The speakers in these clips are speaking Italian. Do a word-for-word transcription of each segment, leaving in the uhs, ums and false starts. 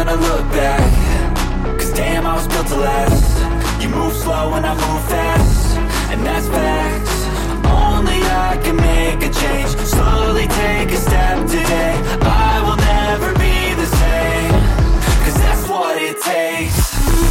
wanna look back, cause damn I was built to last. You move slow and I move fast, and that's facts. Only I can make a change, slowly take a step today. I will never be the same, cause that's what it takes.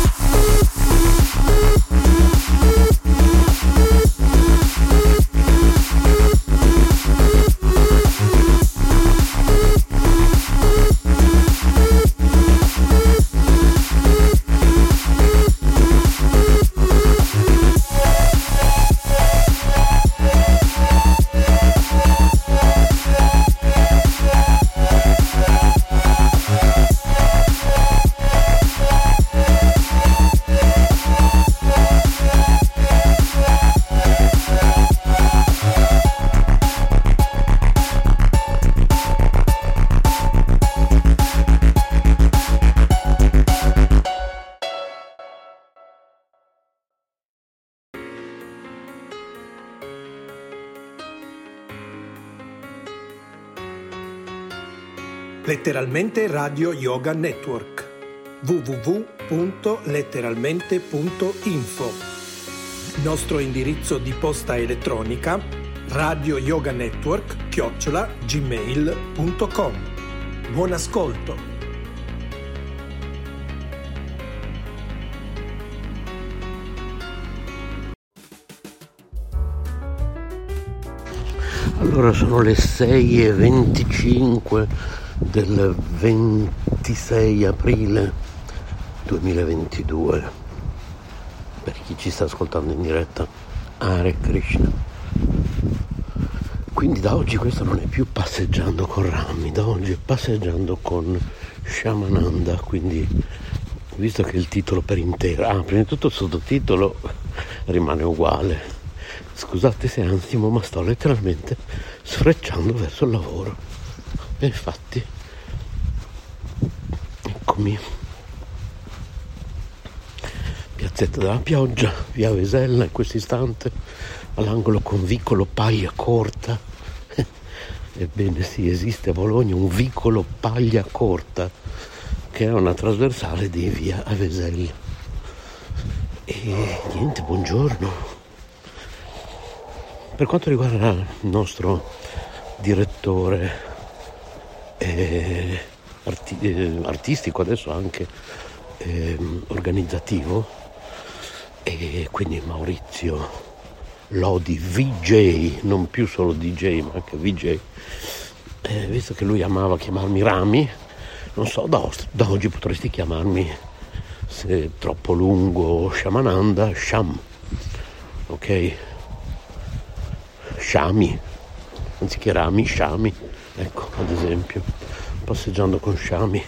Letteralmente Radio Yoga Network w w w punto letteralmente punto info. Nostro indirizzo di posta elettronica radio yoga network chiocciola gmail punto com. Buon ascolto. Allora sono le sei e venticinque del ventisei aprile duemilaventidue. Per chi ci sta ascoltando in diretta, Hare Krishna. Quindi da oggi questo non è più passeggiando con Rami, da oggi è passeggiando con Shyamananda. Quindi, visto che il titolo per intero, ah, prima di tutto il sottotitolo rimane uguale. Scusate se ansimo, ma sto letteralmente sfrecciando verso il lavoro. E infatti, eccomi, piazzetta della Pioggia, via Vesella in questo istante, all'angolo con vicolo Paglia Corta. Ebbene sì, esiste a Bologna un vicolo Paglia Corta, che è una trasversale di via Vesella. E niente, buongiorno. Per quanto riguarda il nostro direttore eh, arti- eh, artistico, adesso anche eh, organizzativo, e quindi Maurizio Lodi V J, non più solo D J ma anche V J, eh, visto che lui amava chiamarmi Rami, non so, da, da oggi potresti chiamarmi, se è troppo lungo, Shyamananda, Sham, ok? Shami, anziché Rami, Shami, ecco, ad esempio, passeggiando con Shami.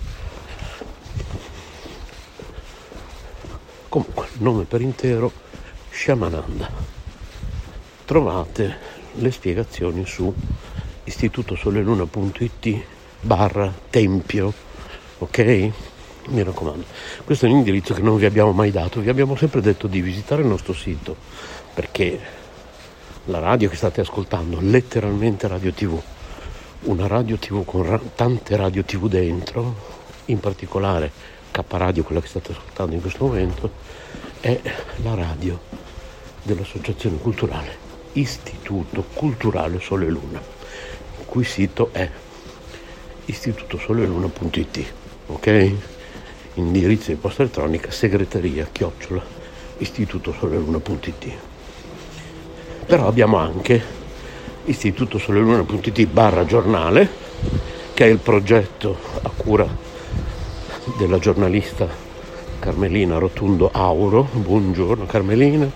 Comunque, nome per intero, Shyamananda. Trovate le spiegazioni su istitutosoleluna punto it barra tempio, ok? Mi raccomando, questo è un indirizzo che non vi abbiamo mai dato, vi abbiamo sempre detto di visitare il nostro sito, perché la radio che state ascoltando, letteralmente radio tivù, una radio tivù con ra- tante radio tivù dentro, in particolare K Radio, quella che state ascoltando in questo momento, è la radio dell'associazione culturale Istituto Culturale Sole e Luna, il cui sito è istitutosoleluna punto it, ok? Indirizzo di posta elettronica segreteria chiocciola istitutosoleluna punto it. Però abbiamo anche istitutosoleluna punto it barra giornale, che è il progetto a cura della giornalista Carmelina Rotundo Auro. Buongiorno Carmelina.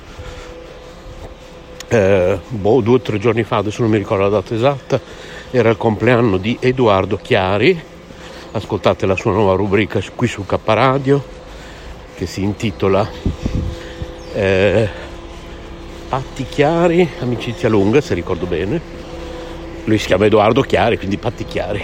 Eh, boh, due o tre giorni fa, adesso non mi ricordo la data esatta, era il compleanno di Edoardo Chiari. Ascoltate la sua nuova rubrica qui su K Radio, che si intitola eh, Patti Chiari, amicizia lunga, se ricordo bene. Lui si chiama Edoardo Chiari, quindi Patti Chiari.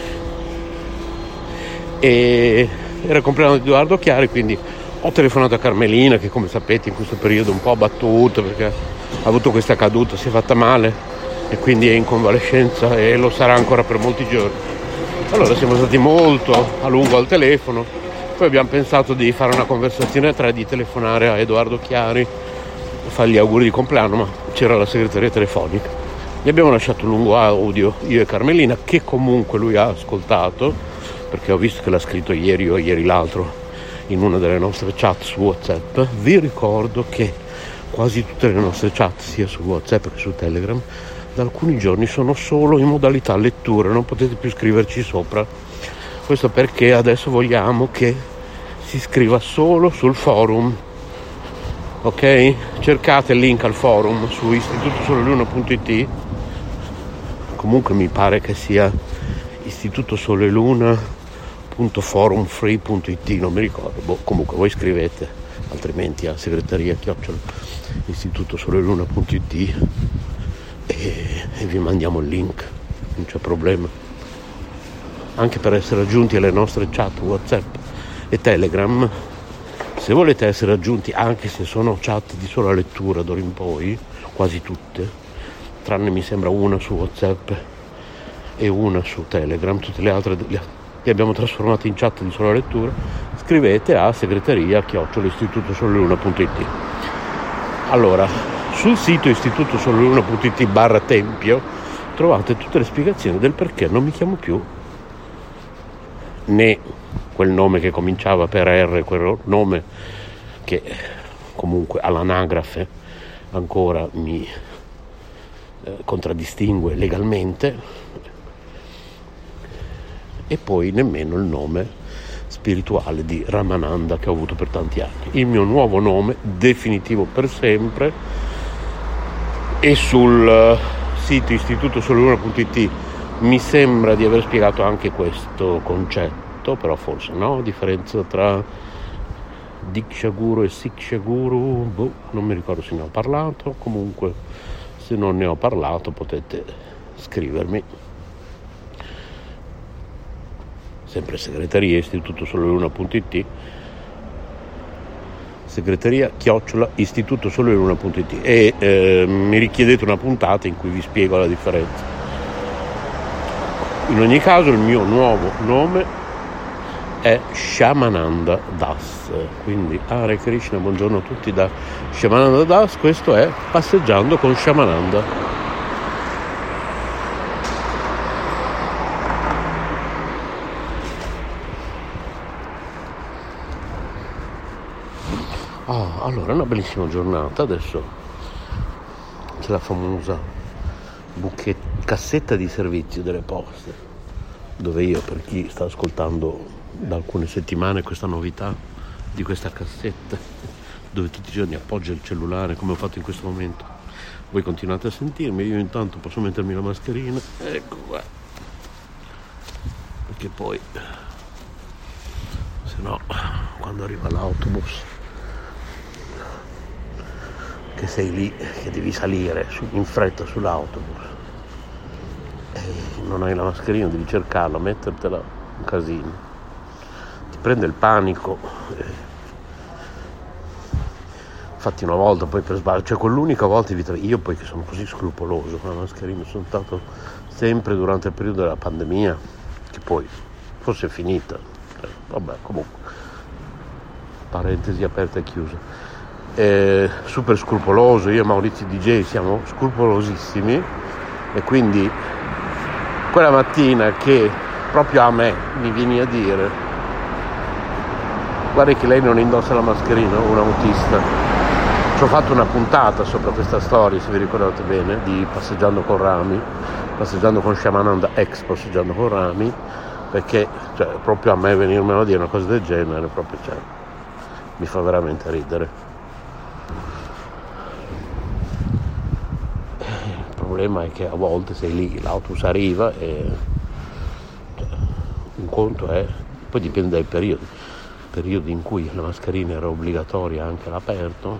E era il compleanno di Edoardo Chiari, quindi ho telefonato a Carmelina, che come sapete in questo periodo è un po' abbattuta perché ha avuto questa caduta, si è fatta male e quindi è in convalescenza e lo sarà ancora per molti giorni. Allora siamo stati molto a lungo al telefono, poi abbiamo pensato di fare una conversazione a tre, di telefonare a Edoardo Chiari, fargli auguri di compleanno, ma c'era la segreteria telefonica. Gli abbiamo lasciato un lungo audio, io e Carmelina, che comunque lui ha ascoltato, perché ho visto che l'ha scritto ieri o ieri l'altro in una delle nostre chat su WhatsApp. Vi ricordo che quasi tutte le nostre chat, sia su WhatsApp che su Telegram, da alcuni giorni sono solo in modalità lettura, non potete più scriverci sopra. Questo perché adesso vogliamo che si scriva solo sul forum, ok? Cercate il link al forum su istituto sole luna punto it. Comunque mi pare che sia istituto sole luna punto forum free punto it, non mi ricordo. Boh, comunque voi scrivete, altrimenti a segreteria chiocciola istituto sole luna punto it e, e vi mandiamo il link, non c'è problema. Anche per essere aggiunti alle nostre chat WhatsApp e Telegram, se volete essere aggiunti, anche se sono chat di sola lettura d'ora in poi, quasi tutte, tranne mi sembra una su WhatsApp e una su Telegram, tutte le altre le abbiamo trasformate in chat di sola lettura, scrivete a segreteria chiocciola istituto sole luna punto it. Allora, sul sito istituto sole luna punto it barra tempio trovate tutte le spiegazioni del perché non mi chiamo più né quel nome che cominciava per R, quel nome che comunque all'anagrafe ancora mi eh, contraddistingue legalmente, e poi nemmeno il nome spirituale di Ramananda che ho avuto per tanti anni. Il mio nuovo nome definitivo per sempre, e sul sito istituto sole luna punto it mi sembra di aver spiegato anche questo concetto, però forse no, differenza tra Diksha Guru e Siksha Guru, boh, non mi ricordo se ne ho parlato. Comunque se non ne ho parlato potete scrivermi, sempre segreteria istituto sole luna punto it, segreteria chiocciola istituto sole luna punto it, e eh, mi richiedete una puntata in cui vi spiego la differenza. In ogni caso il mio nuovo nome è Shamananda Das, quindi Hare Krishna, buongiorno a tutti da Shamananda Das. Questo è Passeggiando con Shamananda. Ah, allora, una bellissima giornata. Adesso c'è la famosa buchet- cassetta di servizio delle poste, dove io, per chi sta ascoltando da alcune settimane questa novità di questa cassetta, dove tutti i giorni appoggio il cellulare come ho fatto in questo momento, voi continuate a sentirmi, io intanto posso mettermi la mascherina, ecco qua, perché poi se no quando arriva l'autobus, che sei lì, che devi salire su, in fretta sull'autobus e non hai la mascherina, devi cercarla, mettertela, un casino, ti prende il panico. Infatti una volta poi per sbaglio, cioè quell'unica volta in vita, io poi che sono così scrupoloso con la mascherina, sono stato sempre durante il periodo della pandemia, che poi forse è finita, eh, vabbè, comunque parentesi aperta e chiusa. Eh, super scrupoloso, io e Maurizio D J siamo scrupolosissimi, e quindi quella mattina che proprio a me mi vieni a dire guarda che lei non indossa la mascherina, un autista, ci ho fatto una puntata sopra questa storia, se vi ricordate bene, di Passeggiando con Rami, Passeggiando con Shamananda, ex Passeggiando con Rami, perché cioè, proprio a me venirmelo a dire una cosa del genere proprio, cioè, mi fa veramente ridere. Il problema è che a volte sei lì, l'autobus arriva e un conto è, poi dipende dai periodi, periodi in cui la mascherina era obbligatoria anche all'aperto,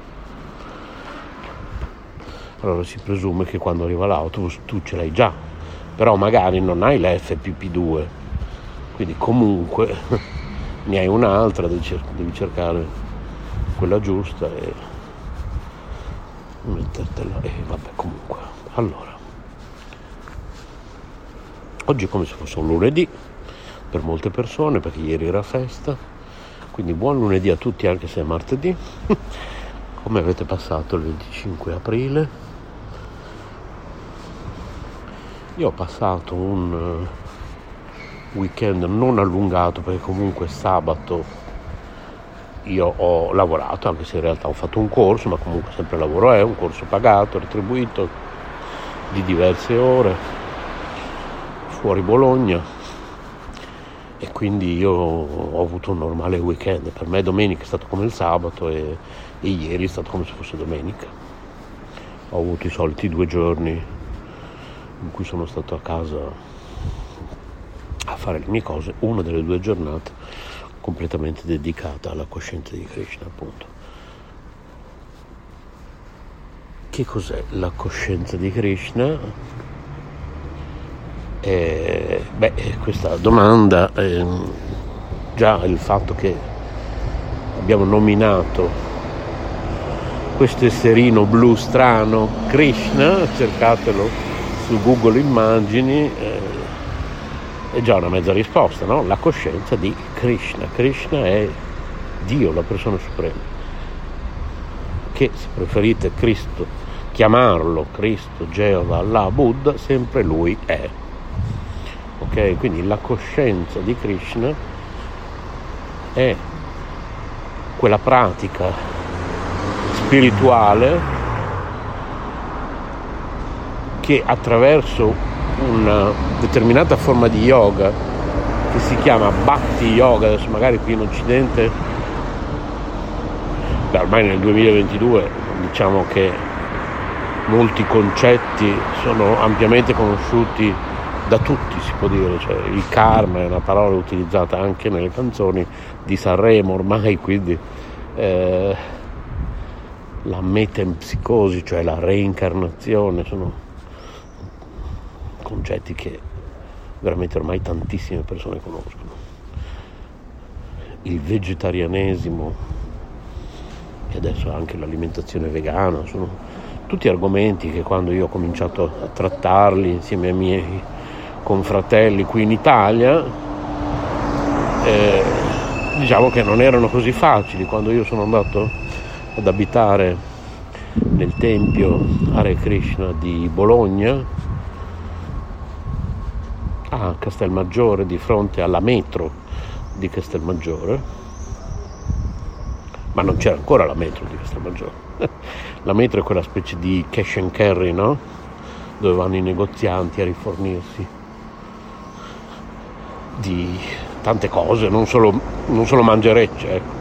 allora si presume che quando arriva l'autobus tu ce l'hai già, però magari non hai la F P P due, quindi comunque ne hai un'altra, devi cercare quella giusta e mettertela, e vabbè, comunque. Allora, oggi è come se fosse un lunedì, per molte persone, perché ieri era festa. Quindi buon lunedì a tutti, anche se è martedì. Come avete passato il venticinque aprile? Io ho passato un weekend non allungato, perché comunque sabato io ho lavorato, anche se in realtà ho fatto un corso, ma comunque sempre lavoro è, un corso pagato, retribuito, di diverse ore, fuori Bologna. E quindi io ho avuto un normale weekend. Per me domenica è stato come il sabato e, e ieri è stato come se fosse domenica. Ho avuto i soliti due giorni in cui sono stato a casa a fare le mie cose, una delle due giornate completamente dedicata alla coscienza di Krishna, appunto. Che cos'è la coscienza di Krishna? Eh, beh, questa domanda, eh, già il fatto che abbiamo nominato questo esserino blu strano Krishna, cercatelo su Google Immagini, eh, è già una mezza risposta, no? La coscienza di Krishna. Krishna è Dio, la persona suprema, che, se preferite Cristo, chiamarlo Cristo, Geova, Allah, Buddha, sempre lui è. Ok, quindi la coscienza di Krishna è quella pratica spirituale che attraverso una determinata forma di yoga che si chiama Bhakti Yoga, adesso magari qui in Occidente, beh, ormai nel duemilaventidue diciamo che molti concetti sono ampiamente conosciuti da tutti, si può dire, cioè il karma è una parola utilizzata anche nelle canzoni di Sanremo ormai, quindi eh, la metempsicosi, cioè la reincarnazione, sono concetti che veramente ormai tantissime persone conoscono. Il vegetarianesimo e adesso anche l'alimentazione vegana sono tutti argomenti che, quando io ho cominciato a trattarli insieme ai miei confratelli qui in Italia, eh, diciamo che non erano così facili. Quando io sono andato ad abitare nel tempio Hare Krishna di Bologna, a Castelmaggiore, di fronte alla metro di Castelmaggiore, ma non c'era ancora la metro di Castelmaggiore. La metro è quella specie di cash and carry, no? Dove vanno i negozianti a rifornirsi di tante cose, non solo, non solo mangerecce, ecco,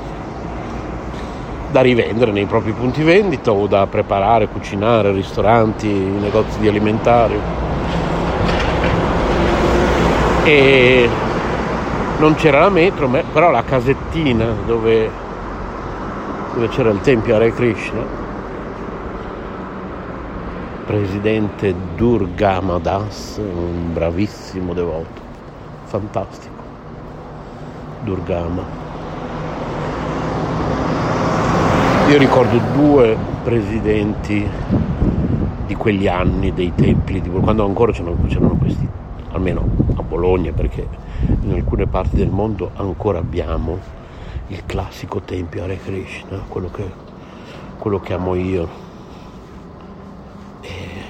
da rivendere nei propri punti vendita o da preparare, cucinare, ristoranti, negozi di alimentari. E non c'era la metro, ma però la casettina dove, dove c'era il tempio Hare Krishna, presidente Durgama Das, un bravissimo devoto, fantastico, Durgama. Io ricordo due presidenti di quegli anni dei templi, di, quando ancora c'erano, c'erano questi, almeno a Bologna, perché in alcune parti del mondo ancora abbiamo il classico tempio Hare Krishna, quello che, quello che amo io, e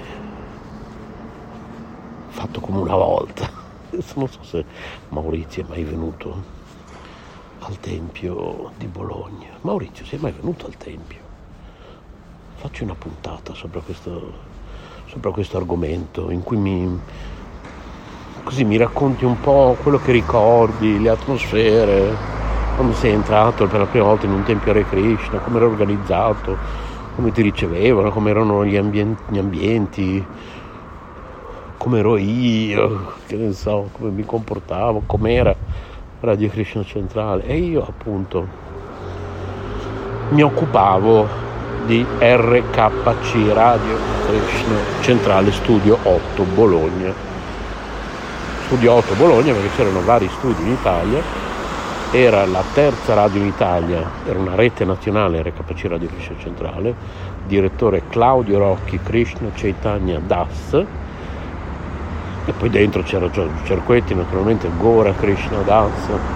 fatto come una volta. Non so se Maurizio è mai venuto al tempio di Bologna. Maurizio, sei mai venuto al tempio? Facci una puntata sopra questo, sopra questo argomento, in cui mi così mi racconti un po' quello che ricordi, le atmosfere, quando sei entrato per la prima volta in un tempio Hare Krishna, come era organizzato, come ti ricevevano, come erano gli ambienti, gli ambienti come ero io, che ne so, come mi comportavo, com'era Radio Krishna Centrale. E io appunto mi occupavo di R K C, Radio Krishna Centrale Studio otto Bologna. Studio otto Bologna perché c'erano vari studi in Italia, era la terza radio in Italia, era una rete nazionale R K C Radio Krishna Centrale, direttore Claudio Rocchi, Krishna Chaitanya Das, E poi dentro c'era Giorgio Cerquetti, naturalmente Gora Krishna Das.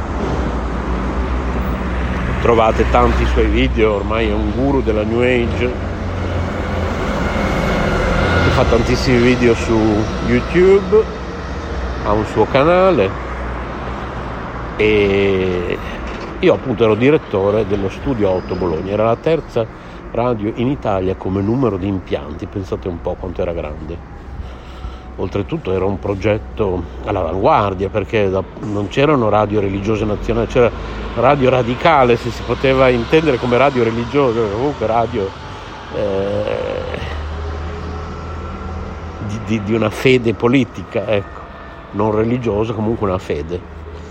Trovate tanti suoi video, ormai è un guru della New Age, fa tantissimi video su YouTube, ha un suo canale e io appunto ero direttore dello Studio otto Bologna, era la terza radio in Italia come numero di impianti, pensate un po' quanto era grande. Oltretutto era un progetto all'avanguardia, perché non c'erano radio religiose nazionali, c'era radio radicale, se si poteva intendere come radio religiosa, comunque radio eh, di, di, di una fede politica, ecco, non religiosa, comunque una fede.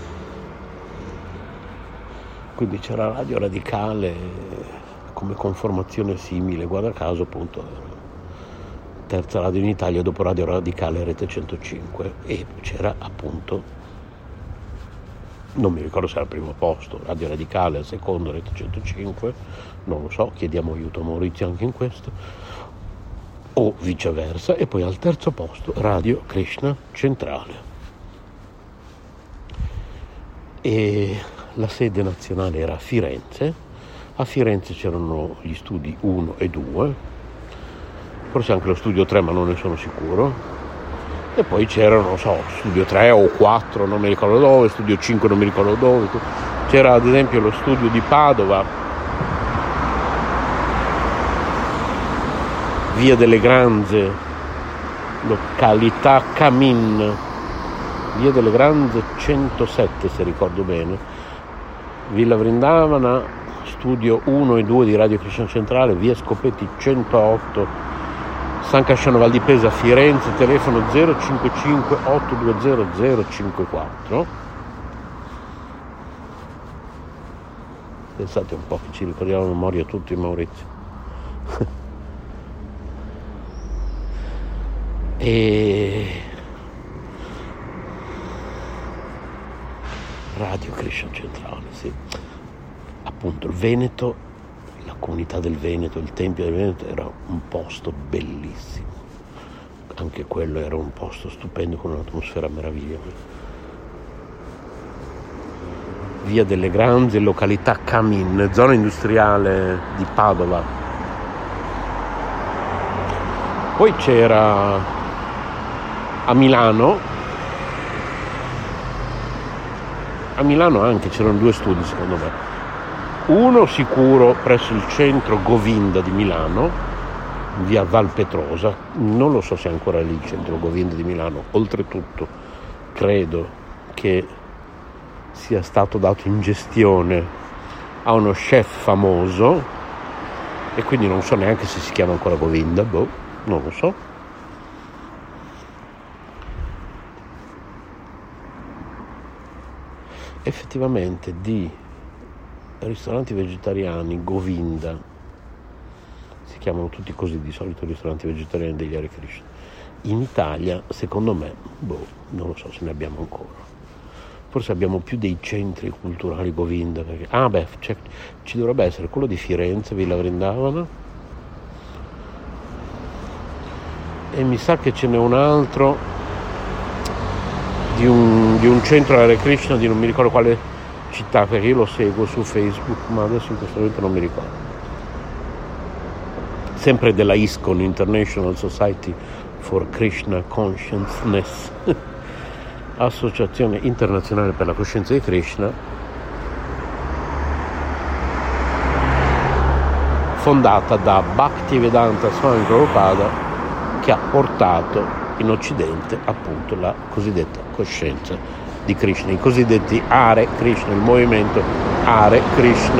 Quindi c'era radio radicale come conformazione simile, guarda caso appunto terza radio in Italia dopo Radio Radicale Rete centocinque, e c'era appunto, non mi ricordo se era al primo posto Radio Radicale, al secondo Rete centocinque, non lo so, chiediamo aiuto a Maurizio anche in questo, o viceversa, e poi al terzo posto Radio Krishna Centrale. E la sede nazionale era a Firenze. A Firenze c'erano gli studi uno e due, forse anche lo studio tre, ma non ne sono sicuro, e poi c'erano, non so, studio tre o quattro, non mi ricordo dove, studio cinque non mi ricordo dove, c'era ad esempio lo studio di Padova, via delle Granze, località Camin, via delle Granze centosette se ricordo bene, Villa Vrindavana, studio uno e due di Radio Krishna Centrale, via Scopetti centootto, San Casciano Val di Pesa, Firenze, telefono zero cinquantacinque otto due zero zero cinque quattro. Pensate un po' che ci ricordiamo a memoria tutti, Maurizio. E Radio Krishna Centrale, sì. Appunto il Veneto, la comunità del Veneto, il Tempio del Veneto era un posto bellissimo, anche quello era un posto stupendo con un'atmosfera meravigliosa. Via delle Granze, località Camin, zona industriale di Padova. Poi c'era a Milano, a Milano anche c'erano due studi secondo me. Uno sicuro presso il centro Govinda di Milano, via Valpetrosa, non lo so se è ancora lì il centro Govinda di Milano, oltretutto credo che sia stato dato in gestione a uno chef famoso e quindi non so neanche se si chiama ancora Govinda, boh, non lo so. Effettivamente di ristoranti vegetariani Govinda, si chiamano tutti così di solito ristoranti vegetariani degli Hare Krishna, in Italia secondo me, boh, non lo so se ne abbiamo ancora, forse abbiamo più dei centri culturali Govinda, perché, ah beh, ci dovrebbe essere quello di Firenze, Villa Vrindavana, e mi sa che ce n'è un altro di un, di un centro Hare Krishna di non mi ricordo quale città, perché io lo seguo su Facebook, ma adesso in questo momento non mi ricordo. Sempre della ISKCON, International Society for Krishna Consciousness, Associazione Internazionale per la Coscienza di Krishna, fondata da Bhaktivedanta Swami Prabhupada, che ha portato in Occidente appunto la cosiddetta coscienza di Krishna, i cosiddetti Hare Krishna, il movimento Hare Krishna.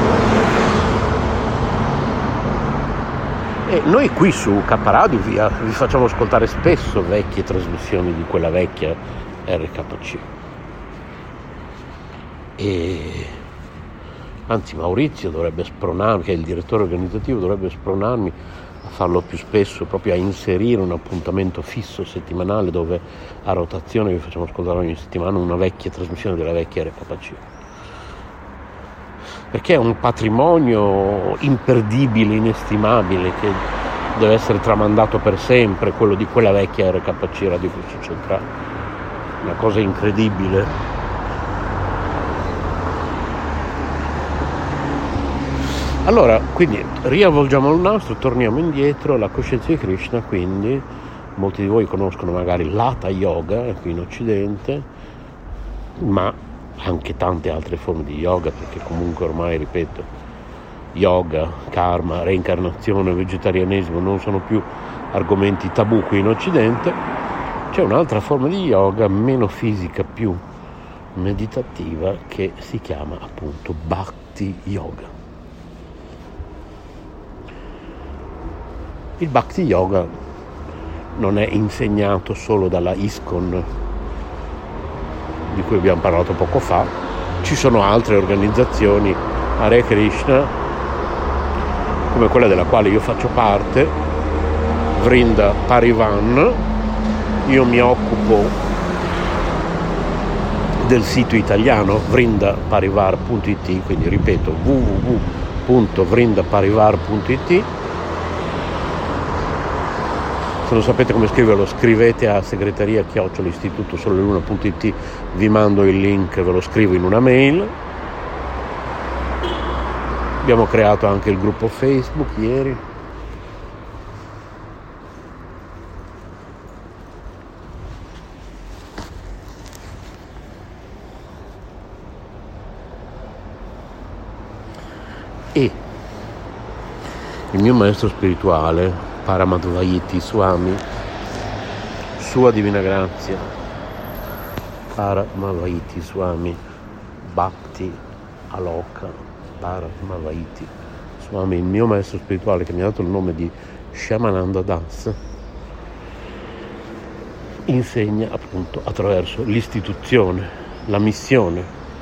E noi qui su K Radio vi, vi facciamo ascoltare spesso vecchie trasmissioni di quella vecchia R K C. E anzi Maurizio dovrebbe spronarmi, che è il direttore organizzativo, dovrebbe spronarmi a farlo più spesso, proprio a inserire un appuntamento fisso settimanale dove a rotazione vi facciamo ascoltare ogni settimana una vecchia trasmissione della vecchia R K C, perché è un patrimonio imperdibile, inestimabile, che deve essere tramandato per sempre, quello di quella vecchia R K C Radio Cristian Centrale, una cosa incredibile. Allora, quindi riavvolgiamo il nastro, torniamo indietro. La coscienza di Krishna, quindi molti di voi conoscono magari l'Hatha Yoga qui in Occidente, ma anche tante altre forme di yoga, perché comunque ormai, ripeto, yoga, karma, reincarnazione, vegetarianesimo non sono più argomenti tabù qui in Occidente. C'è un'altra forma di yoga meno fisica, più meditativa, che si chiama appunto Bhakti Yoga. Il Bhakti Yoga non è insegnato solo dalla ISKCON, di cui abbiamo parlato poco fa. Ci sono altre organizzazioni Hare Krishna, come quella della quale io faccio parte, Vrinda Parivan. Io mi occupo del sito italiano vrinda parivar punto it, quindi ripeto w w w punto vrinda parivar punto it. Se non sapete come scriverlo, scrivete a segreteria chiocciola istituto soleluna punto it, vi mando il link, ve lo scrivo in una mail. Abbiamo creato anche il gruppo Facebook ieri. E il mio maestro spirituale, Paramadvaiti Swami, Sua Divina Grazia, Paramadvaiti Swami Bhakti Aloka Paramadvaiti Swami, il mio maestro spirituale, che mi ha dato il nome di Shyamananda Das, insegna appunto attraverso l'istituzione, la missione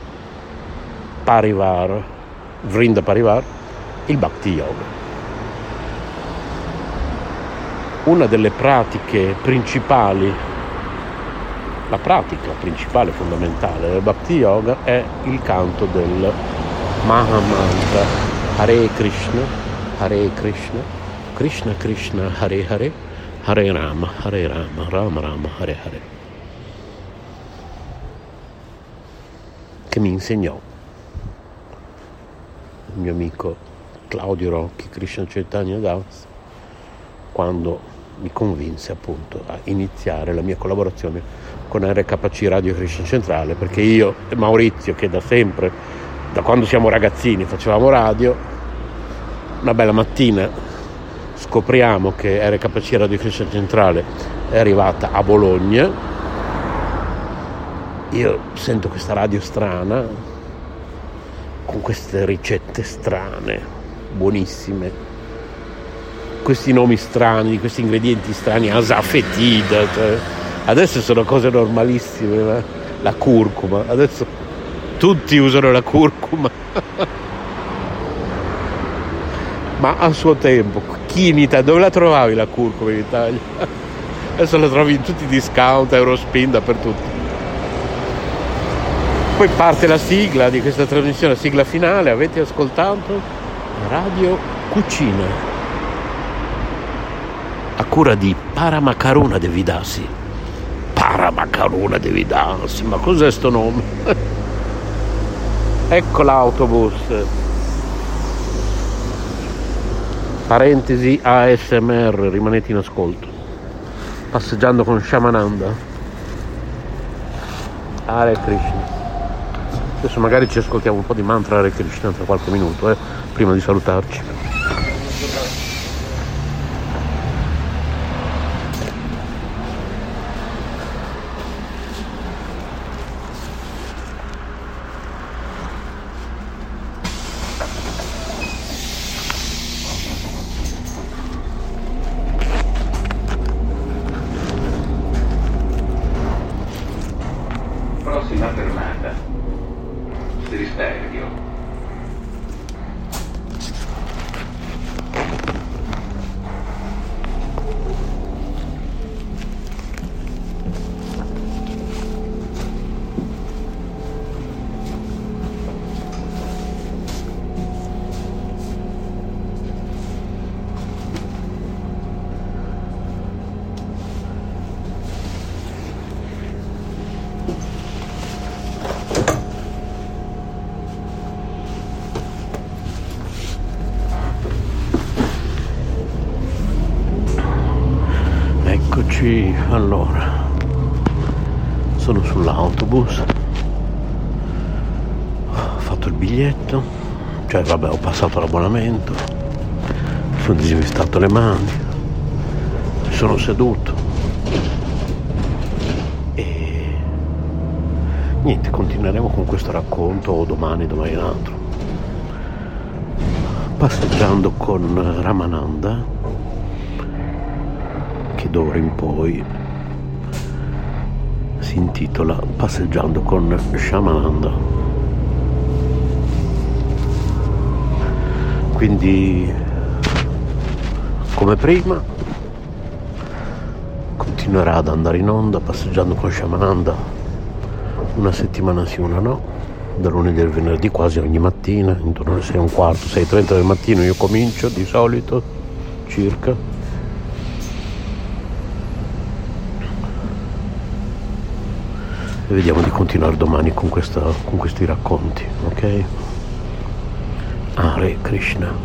Parivar, Vrinda Parivar, il Bhakti Yoga. Una delle pratiche principali, la pratica principale fondamentale del Bhakti Yoga è il canto del Mahamantra Hare Krishna, Hare Krishna, Krishna Krishna Hare Hare, Hare Rama, Hare Rama, Rama Rama, Hare Hare, che mi insegnò il mio amico Claudio Rocchi, Krishna Chaitanya Das, quando mi convinse appunto a iniziare la mia collaborazione con R K C Radio Cristian Centrale, perché io e Maurizio, che da sempre, da quando siamo ragazzini facevamo radio, una bella mattina scopriamo che R K C Radio Cristian Centrale è arrivata a Bologna. Io sento questa radio strana, con queste ricette strane, buonissime, questi nomi strani, questi ingredienti strani, asafetida, cioè, adesso sono cose normalissime, ma la curcuma, adesso tutti usano la curcuma, ma a suo tempo, chi in Italia, dove la trovavi la curcuma in Italia? Adesso la trovi in tutti i discount, Eurospin, dappertutto. Poi parte la sigla di questa trasmissione, la sigla finale, avete ascoltato Radio Cucina, a cura di Paramakaruna Devidasi. Paramakaruna Devidasi, ma cos'è sto nome? Ecco l'autobus. Parentesi A S M R, rimanete in ascolto. Passeggiando con Shyamananda. Hare Krishna. Adesso magari ci ascoltiamo un po' di mantra Hare Krishna tra qualche minuto, eh, prima di salutarci. Prossima fermata, Steristerio. Eccoci, allora, sono sull'autobus, ho fatto il biglietto, cioè vabbè ho passato l'abbonamento, sono disinfestato le mani, mi sono seduto e niente, continueremo con questo racconto domani, domani l'altro, passeggiando con Ramananda, che d'ora in poi si intitola Passeggiando con Shamananda. Quindi come prima continuerà ad andare in onda Passeggiando con Shamananda una settimana sì, una no, da lunedì al venerdì quasi ogni mattina, intorno alle sei e un quarto, sei e trenta del mattino io comincio di solito circa. E vediamo di continuare domani con, questa, con questi racconti, ok? Hare Krishna.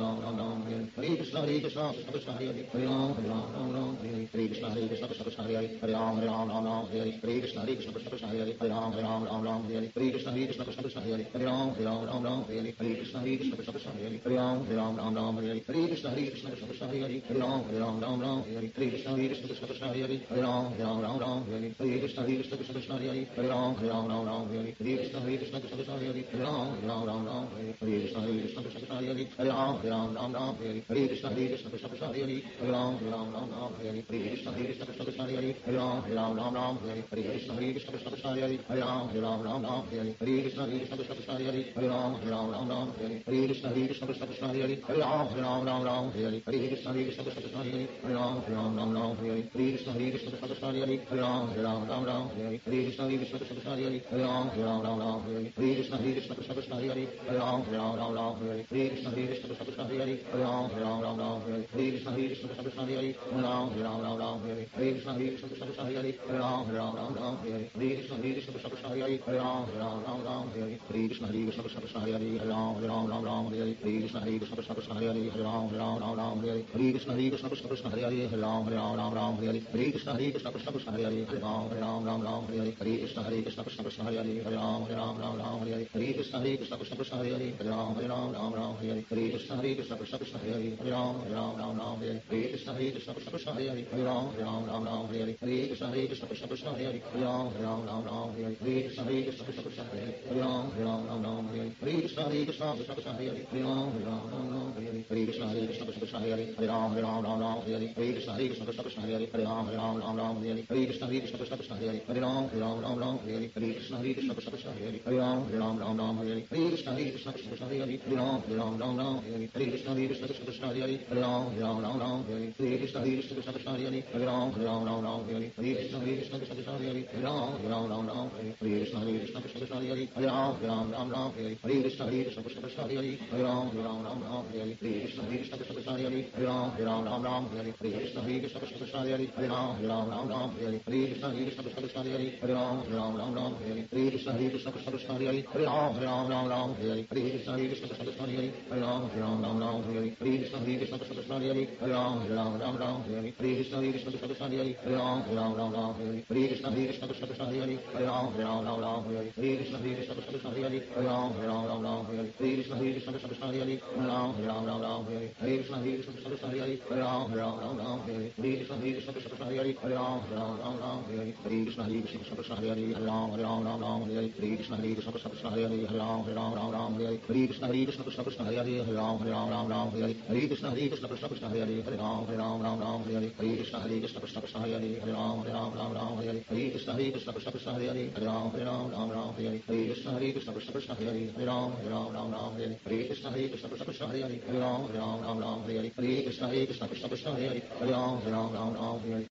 Ram Ram Ram Hare Krishna Hare Krishna Krishna Krishna Hare Hare Ram Ram Ram Ram Hare Krishna Hare Krishna Krishna Krishna Hare Hare Ram Ram Ram Ram Hare Krishna Hare Krishna Krishna Krishna Hare Hare Ram Ram Ram Ram Hare Krishna Hare Krishna Krishna Krishna Hare Hare Ram Ram Ram Ram Hare Krishna Hare Krishna Krishna Krishna Hare Hare Ram Ram Ram Ram Hare Krishna Hare Krishna Krishna Krishna Hare Hare Ram Ram Ram Ram Hare Krishna Hare Krishna Krishna Krishna Hare Hare Ram Ram Ram Ram Hare Krishna Hare Krishna Krishna Krishna Hare Hare Ram Ram Ram Ram Hare Krishna Hare Krishna Krishna Krishna Hare Hare Ram Ram Ram Ram Hare Krishna Hare Krishna Krishna Krishna Hare Hare Ram Ram Ram Ram Hare Krishna Hare Krishna Krishna Krishna Hare Hare Ram Ram Ram Ram Hare Krishna Hare Krishna Krishna Krishna Hare Hare Ram Ram Ram Ram Hare Krishna Hare Krishna Krishna Krishna Hare Hare Ram Ram Ram Ram Hare Krishna Hare Krishna Krishna Krishna Hare Hare Ram Ram Ram Ram Hare Krishna Hare Krishna Krishna Krishna Hare Hare Ram Ram Ram Ram Hare Krishna Hare Krishna Krishna Krishna Hare Hare Ram Ram Ram Ram Hare Krishna Hare Krishna Krishna Krishna Hare Hare Ram Ram Ram Ram Hare Krishna Hare Krishna Krishna Krishna Hare Hare Ram Ram Ram Ram Hare Krishna Hare Krishna Krishna Krishna Hare Hare Ram Ram Ram Ram Hare Krishna Hare Krishna Krishna Krishna Hare Hare Ram Ram Ram Ram Hare Krishna Hare Krishna Krishna Krishna Hare Hare Ram Ram Ram Ram Hare Krishna Hare Krishna Krishna Krishna Hare Hare Ram Ram Ram Ram Hare Krishna Hare Krishna Krishna Krishna Hare Hare Ram Ram Ram Ram Hare Krishna Hare Krishna Krishna Krishna Hare Hare Ram Ram Ram Ram Hare Krishna Hare Krishna Krishna Krishna Hare Hare Ram Ram Ram Ram Hare Krishna Hare Krishna Krishna Krishna Hare Hare Ram Ram Ram Ram Hare Krishna Hare Krishna Krishna Krishna Hare Hare Ram Ram Ram Ram Hare Krishna Hare Krishna Krishna Krishna Hare Hare Ram Ram Ram Ram Hare Krishna Hare Krishna Krishna Krishna Hare Hare Ram Ram Ram Ram Hare Krishna Hare Krishna Krishna Krishna Hare Hare Ram Ram Ram Ram Hare Krishna Hare Krishna Krishna Krishna Hare Hare Ram Ram Ram Ram Hare Krishna Hare Krishna Krishna Krishna Hare Hare Ram Ram Ram Ram Hare Krishna Hare Krishna Krishna Krishna Hare Hare Ram Ram Ram Ram Hare Krishna Hare Krishna Krishna Krishna Hare Hare Ram Ram Ram Ram Hare Krishna Hare Krishna Krishna Krishna Hare Hare Ram Ram Ram Ram Hare Krishna Hare Krishna Krishna Krishna Hare Hare Ram Ram Ram Ram Hare Krishna Hare Krishna Krishna Krishna Hare Hare Ram Ram Ram Ram Hare Krishna Hare Krishna Krishna Krishna Hare Hare Ram Ram Ram Ram Hare Krishna Hare Krishna Krishna Krishna Hare Hare Ram Ram Ram Ram Hare Krishna Hare Krishna Krishna Krishna Hare Hare Ram Ram Ram Ram Hare Krishna Hare Krishna Krishna Krishna Hare Hare Ram Ram Ram Ram Hare Krishna Hare Krishna Krishna Krishna Hare Hare Ram Ram Ram Ram Hare Krishna Hare Krishna Krishna Krishna Hare Hare Ram Ram Ram Ram Hare Krishna Hare Krishna Krishna Krishna Hare Hare Ram Ram Ram Ram Hare Krishna Hare Krishna Krishna Krishna Hare Hare Ram Ram Ram Ram Hare Krishna Hare Krishna Krishna Krishna Hare Hare Ram Ram Ram Ram Hare Krishna Hare Krishna Krishna Krishna Hare Hare Ram Ram Ram Ram Hare Krishna Hare Krishna Krishna Krishna Hare Hare Ram Ram Ram Ram Hare Krishna Hare Krishna Krishna Krishna Hare Hare Ram Ram Ram Ram Hare Krishna Hare Krishna Krishna Krishna Hare Hare Ram Ram Ram Ram Hare Krishna Hare Krishna Krishna Krishna Hare Hare Ram Ram Ram Ram Hare Krishna Hare Krishna Krishna Krishna Hare Hare Ram Ram Ram Ram Hare Krishna Hare Krishna Krishna Krishna Hare Hare Ram Ram Ram Ram Hare Krishna Hare Krishna Krishna Krishna Hare Hare Ram Ram Ram Ram Hare Krishna Hare Krishna Krishna Krishna Hare Hare Ram Ram Ram Ram Hare Krishna Hare Krishna Krishna Krishna Hare Hare Ram Ram Ram Ram Hare Krishna Hare Krishna Krishna Krishna Hare Hare Ram Ram Ram Ram Hare Krishna Hare Krishna Krishna Krishna Hare Hare Ram Ram Ram Ram Hare Krishna Hare Krishna Krishna Krishna Hare Hare Ram Ram Ram Ram Hare Krishna Hare Krishna Krishna Krishna Hare Hare Ram Ram Ram Ram Hare Krishna Hare Krishna Krishna Krishna Hare Hare Ram Ram Ram Ram Hare Krishna Hare Krishna Krishna Krishna Hare Hare Ram Ram Ram Ram Hare Krishna Hare Krishna Krishna Krishna Hare Hare Ram Ram Ram Ram Hare Krishna Hare Krishna Krishna Krishna Hare Hare Ram Ram Ram Ram Hare Krishna Hare Krishna Krishna Krishna Hare Hare Ram Ram Ram Ram Hare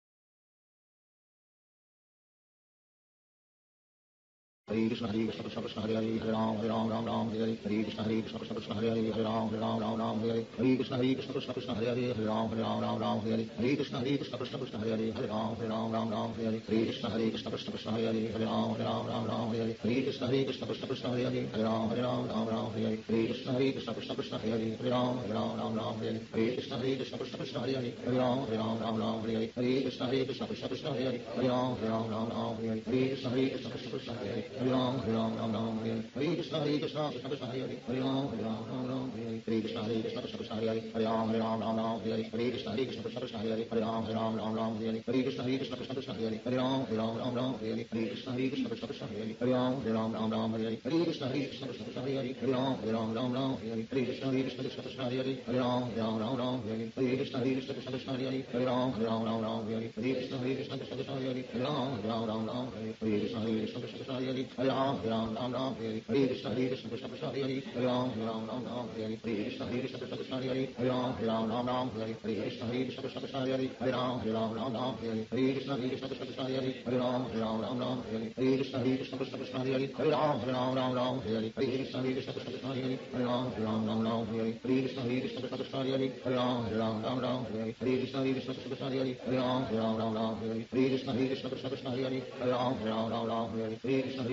Hare Krishna Hare Krishna Krishna Krishna Hare Hare Ram Ram Ram Ram Hare Hare Krishna Hare Krishna Krishna Krishna Hare Hare Ram Ram Ram Ram Hare Hare Krishna Hare Krishna Krishna Krishna Hare Hare Ram Ram Ram Ram Hare Hare Krishna Hare Krishna Krishna Krishna Hare Hare Ram Ram Ram Ram Hare Krishna Hare Krishna Krishna Krishna Hare Hare Ram Ram Ram Ram Hare Krishna Hare Krishna Krishna Krishna Hare Hare Ram Ram Ram Ram Hare Krishna Hare Krishna Krishna Krishna Hare Hare Ram Ram Ram Ram Hare Krishna Hare Krishna Krishna Krishna Hare Hare Ram Ram Ram Ram Hare Krishna Hare Krishna Krishna Krishna Hare Hare Ram Ram Ram Ram Hare Krishna Hare Krishna Krishna Krishna Hare Hare Ram Ram Ram Ram Hare Krishna Hare Krishna Krishna Krishna Hare Hare Ram Ram Ram Ram Hare Krishna Hare Krishna Krishna Krishna Hare Hare Ram Ram Ram Ram Hare Krishna Hare Krishna Krishna Krishna Hare Hare Ram Ram Ram Ram Hare Krishna Hare Krishna Krishna Krishna Hare Hare Ram Ram Ram Ram Hare Krishna Hare Krishna Krishna Krishna Hare Hare Ram Ram Ram Ram Hare Krishna Hare Krishna Krishna Krishna Hare Hare Ram Ram Ram Ram Hare Krishna Hare Krishna Krishna Krishna Hare Hare Ram Ram Ram Ram Hare Krishna Hare Krishna Krishna Krishna Hare Hare Ram Ram Ram Ram Hare Krishna Hare Krishna Krishna Krishna Hare Hare Ram Ram Ram Ram Hare Krishna Hare Krishna Krishna Krishna Hare Hare Ram Ram Ram Ram Hare Krishna Hare Krishna Krishna Krishna Hare Hare Ram Ram Ram Ram Hare Krishna Hare Krishna Krishna Krishna Hare Hare Ram Ram Ram Ram Hare Krishna Hare Krishna Krishna Krishna Hare Hare Ram Ram Ram Ram Hare Krishna Hare Krishna Krishna Krishna Hare Hare Ram Ram Ram Ram Hare Krishna Hare Krishna Krishna Krishna Hare Hare Ram Ram Ram Ram Hare Krishna Hare Krishna Krishna Krishna Hare Hare Ram Ram Ram Ram Hare Krishna Hare Krishna Krishna Krishna Hare Hare Ram Ram Ram Ram Hare Krishna Hare Krishna Krishna Krishna Hare Hare Ram Ram Ram Ram Hare Krishna Hare Krishna Krishna Krishna Hare Hare Ram Ram Ram Ram Hare Krishna Hare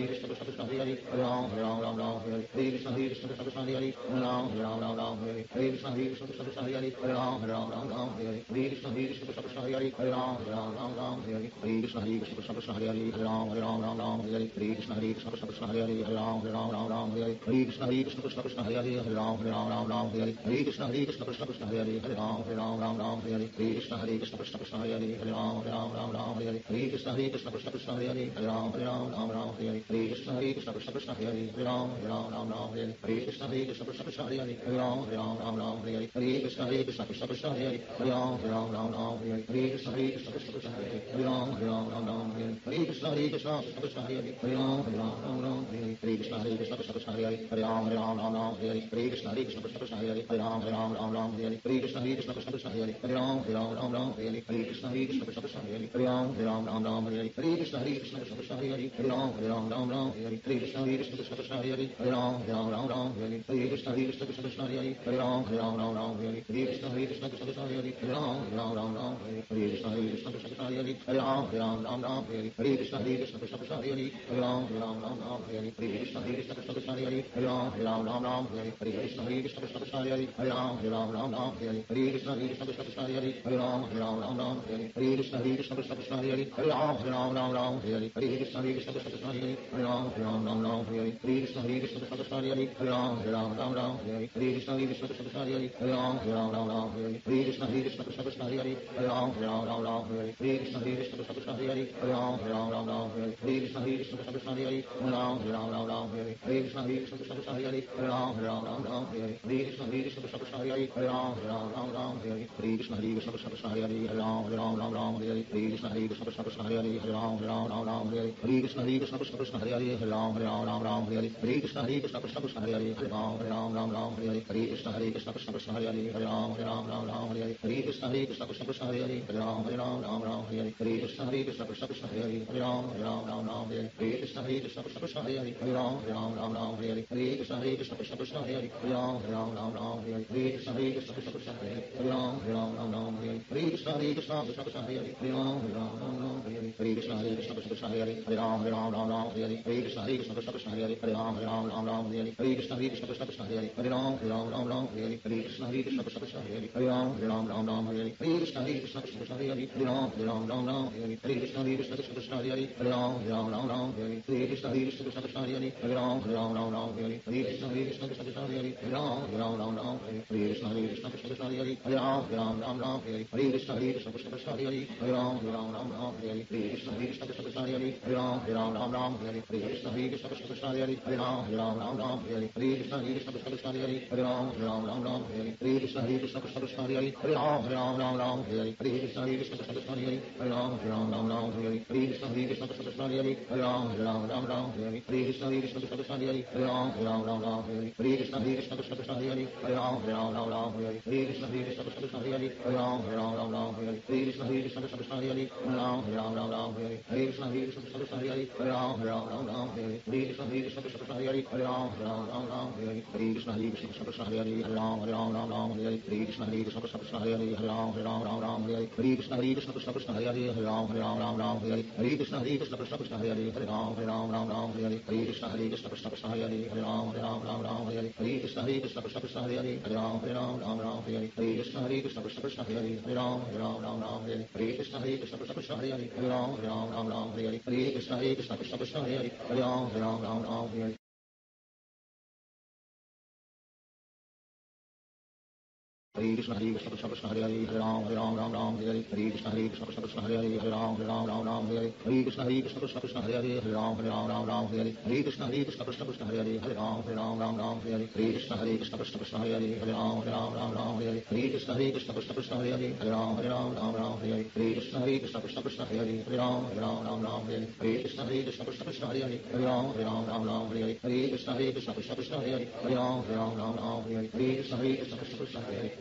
Krishna Krishna Krishna Hare Hare Hare Ram Hare Ram Ram Ram Hare Hare Krishna Hare Krishna Krishna Krishna Hare Hare Hare Ram Hare Ram Ram Ram Hare Hare Krishna Hare Krishna Krishna Krishna Hare Hare Hare Ram Hare Ram Ram Ram Hare Hare Krishna Hare Krishna Krishna Krishna Hare Hare Hare Ram Hare Ram Ram Ram Hare Hare Krishna Hare Krishna Krishna Krishna Hare Hare Hare Ram Hare Ram Ram Ram Hare Hare Krishna Hare Krishna Krishna Krishna Hare Hare Hare Ram Hare Ram Ram Ram Hare Hare Krishna Hare Krishna Krishna Krishna Hare Hare Hare Ram Hare Ram Ram Ram Hare Hare Krishna Hare Krishna Krishna Krishna Hare Hare Hare Ram Hare Ram Ram Ram Hare Hare Krishna Hare Krishna Krishna Krishna Hare Hare Hare Ram Hare Ram Ram Ram Hare Hare Krishna Hare Krishna Krishna Krishna Hare Hare Hare Ram Hare Ram Ram Ram Hare Hare Krishna Hare Krishna Krishna Krishna Hare Hare Hare Ram Hare Ram Ram Ram Hare Hare Krishna Hare Krishna Krishna Krishna Hare Hare Hare Ram Hare Ram Ram Ram Hare Hare Krishna Hare Krishna Krishna Krishna Hare Hare Hare Ram Hare Ram Ram Ram Hare Hare Krishna Hare Krishna Krishna Krishna Hare Hare Hare Ram Hare Ram Ram Ram Hare Hare Krishna Hare Krishna Krishna Krishna Hare Hare Hare Ram Hare Ram Ram Ram Hare Hare Krishna Hare Krishna Krishna Krishna Hare Hare Hare Ram Hare Ram Ram Ram Hare Hare Krishna Hare Krishna Krishna Krishna Hare Hare Hare Ram Hare Ram Ram Ram Hare Hare Krishna Hare Krishna Krishna Krishna Hare Hare Hare Ram Hare Ram Ram Ram Hare Hare Krishna Hare Krishna Krishna Krishna Hare Hare Hare Ram Hare Ram Ram Ram Hare Hare Krishna Hare Krishna Krishna Krishna Hare Hare Hare Ram Hare Ram Ram Ram Hare Hare Krishna Hare Krishna Krishna Krishna Hare Hare Hare Ram Hare Ram Ram Ram Hare Hare Krishna Hare Krishna Krishna Krishna Hare Hare Hare Ram Hare Ram Ram Ram Hare Hare Krishna Hare Krishna Krishna Krishna Hare Hare Hare Ram Hare Ram Ram Ram Hare Hare Krishna Hare Krishna Krishna Krishna Hare Hare Hare Ram Hare Ram Ram Ram Hare Hare Krishna Hare Krishna Krishna Krishna Hare Hare Hare Ram Hare Ram Ram Ram Hare Hare Krishna Hare Krishna Krishna Krishna Hare Hare Hare Ram Hare Ram Ram Ram Hare Hare Krishna Hare Krishna Krishna Krishna Hare Hare Hare Ram Hare Ram Ram Ram Hare Hare Krishna Hare Krishna Krishna Krishna Hare Hare Hare Ram Hare Ram Ram Ram Hare Hare Krishna Hare Krishna Krishna Krishna Hare Hare Hare Ram Hare Ram Ram Ram Hare Hare Krishna Hare Krishna Krishna Krishna Hare Hare Hare Ram Hare Ram Ram Ram Hare Hare Krishna Hare Krishna Krishna Krishna Hare Hare Hare Ram Hare Ram Ram Ram Hare Hare Krishna Hare Krishna Krishna Krishna Hare Hare Hare Ram Hare Ram Ram Ram Hare Hare Krishna Hare Krishna Krishna Krishna Hare Hare Hare Ram Hare Ram Ram Ram Hare Hare Krishna Hare Krishna Krishna Krishna Hare Hare Hare Ram Hare Ram Ram Ram Hare Hare Krishna Hare Krishna Krishna Krishna Hare Hare Ram Hare Ram Ram Ram Hare Hare Krishna Hare Krishna Krishna Krishna Hare Hare Ram Hare Ram Ram Ram Hare Hare Krishna Hare Krishna Krishna Krishna Hare Hare Ram Hare Ram Ram Ram Hare Hare Krishna Hare Krishna Krishna Krishna Hare Hare Ram Hare Ram Ram Ram Hare Hare Krishna Hare Krishna Krishna Krishna Hare Hare Ram Hare Ram Ram Ram Hare Hare Krishna Hare Krishna Krishna Krishna Hare Hare Ram Hare Ram Ram Ram Hare Hare Krishna Hare Krishna Krishna Krishna Hare Hare Ram Hare Ram Ram Ram Hare Hare Krishna Hare Krishna Krishna Krishna Hare Hare Ram Hare Ram Ram Ram Hare Hare Krishna Hare Krishna Krishna Krishna Hare Hare Ram Hare Ram Ram Ram Hare Hare Krishna Hare Krishna Krishna Krishna Hare Hare Ram Hare Ram Ram Ram Hare Hare Krishna Hare Krishna Krishna Krishna Hare Hare Ram Hare Ram Ram Ram Hare Hare Krishna Hare Krishna Krishna Krishna Hare Hare Ram Hare Ram Ram Ram Hare Hare Krishna Hare Krishna Krishna Krishna Hare Hare Ram Hare Ram Ram Ram Hare Hare Krishna Hare Krishna Krishna Krishna Hare Hare Ram Hare Ram Ram Ram Hare Hare Krishna Hare Krishna Krishna Krishna Hare Hare Ram Hare Ram Ram Ram Hare Hare Krishna Hare Krishna Krishna Krishna Hare Hare Ram Hare Ram Ram Ram Hare Hare Krishna Hare Krishna Krishna Krishna Hare Hare Ram Hare Ram Ram Ram Hare Hare Krishna Hare Krishna Krishna Krishna Hare Hare Ram Hare Ram Ram Ram Hare Hare Krishna Hare Krishna Krishna Krishna Hare Hare Ram Hare Ram Ram Ram Hare Hare Krishna Hare Krishna Krishna Krishna Hare Hare Ram Hare Ram Ram Ram Hare Hare Krishna Hare Krishna Krishna Krishna Hare Hare Ram Hare Ram Ram Ram Hare Hare Krishna Hare Krishna Krishna Krishna Hare Hare Ram Hare Ram Ram Ram Hare Hare Krishna Hare Krishna Krishna Krishna Hare Hare Ram Hare Ram Ram Ram Hare Hare Krishna Hare Krishna Krishna Krishna Hare Hare Ram Hare Ram Ram Ram Hare Hare Krishna Hare Krishna Krishna Krishna Hare Hare Ram Hare Ram Ram Ram Hare Hare Krishna Hare Krishna Krishna Krishna Hare Hare Ram Hare Ram Ram Ram Hare Hare Krishna Hare Krishna Krishna Krishna Hare Hare Ram Hare Ram Ram Ram Hare Hare Krishna Hare Krishna Krishna Krishna Hare Hare Ram Hare Ram Ram Ram Hare Hare Krishna Hare Krishna Krishna Krishna Hare Hare Ram Hare Ram Ram Ram Hare Hare Krishna Hare Krishna Krishna Krishna Hare Hare Ram Hare Ram Ram Ram Hare Hare Krishna Hare Krishna Krishna Krishna Hare Hare Ram Hare Ram Ram Ram Hare Hare Krishna Hare Krishna Krishna Krishna Hare Hare Ram Hare Ram Ram Ram Hare Hare Krishna Hare Krishna Krishna Krishna Hare Hare Ram Hare Ram Ram Ram Hare Hare Krishna Hare Krishna Krishna Krishna Hare Hare Ram Hare Ram Ram Ram Hare Hare Krishna Hare Krishna Krishna Krishna Hare Hare Ram Hare Ram Ram Ram Hare Hare Krishna Hare Krishna Krishna Krishna Hare Hare Ram Hare Ram Ram Ram Hare Hare Krishna Hare Krishna Krishna Krishna Hare Hare Ram Hare Ram Ram Ram Hare Hare Krishna Hare Krishna Krishna Krishna Hare Hare Ram Hare Ram Ram Ram Hare Hare Krishna Hare Krishna Krishna Krishna Hare Hare Ram Hare Ram Ram Ram Hare Hare Krishna Hare Krishna Krishna Krishna Hare Hare Ram Hare Ram Ram Ram Hare Hare Krishna Hare Krishna Krishna Krishna Hare Hare Ram Hare Ram Ram Ram Hare Hare Krishna Hare Krishna Krishna Krishna Hare Hare Ram Hare Ram Ram Ram Hare Hare Krishna Hare Krishna Krishna Krishna Hare Hare Ram Hare Ram Ram Ram Hare Hare Krishna Hare Krishna Krishna Krishna Hare Hare Ram Hare Ram Ram Ram Hare Hare Krishna Hare Krishna Krishna Krishna Hare Hare Ram Hare Ram Ram Ram Hare Hare Hare Krishna Hare Krishna Krishna Krishna Hare Hare Hare Ram Hare Ram Ram Ram Hare Hare Hare Krishna Hare Krishna Krishna Krishna Hare Hare Hare Ram Hare Ram Ram Ram Hare Hare Hare Krishna Hare Krishna Krishna Krishna Hare Hare Hare Ram Hare Ram Ram Ram Hare Hare Hare Krishna Hare Krishna Krishna Krishna Hare Hare Hare Ram Hare Ram Ram Ram Hare Hare Krishna Hare Krishna Krishna Krishna Hare Hare Hare Ram Hare Ram Ram Ram Hare Hare Krishna Hare Krishna Krishna Krishna Hare Hare Hare Ram Hare Ram Ram Ram Hare Hare Krishna Hare Krishna Krishna Krishna Hare Hare Hare Ram Hare Ram Ram Ram Hare Hare Krishna Hare Krishna Krishna Krishna Hare Hare Hare Ram Hare Ram Ram Ram Hare Hare Krishna Hare Krishna Krishna Krishna Hare Hare Hare Ram Hare Ram Ram Ram Hare Hare Krishna Hare Krishna Krishna Krishna Hare Hare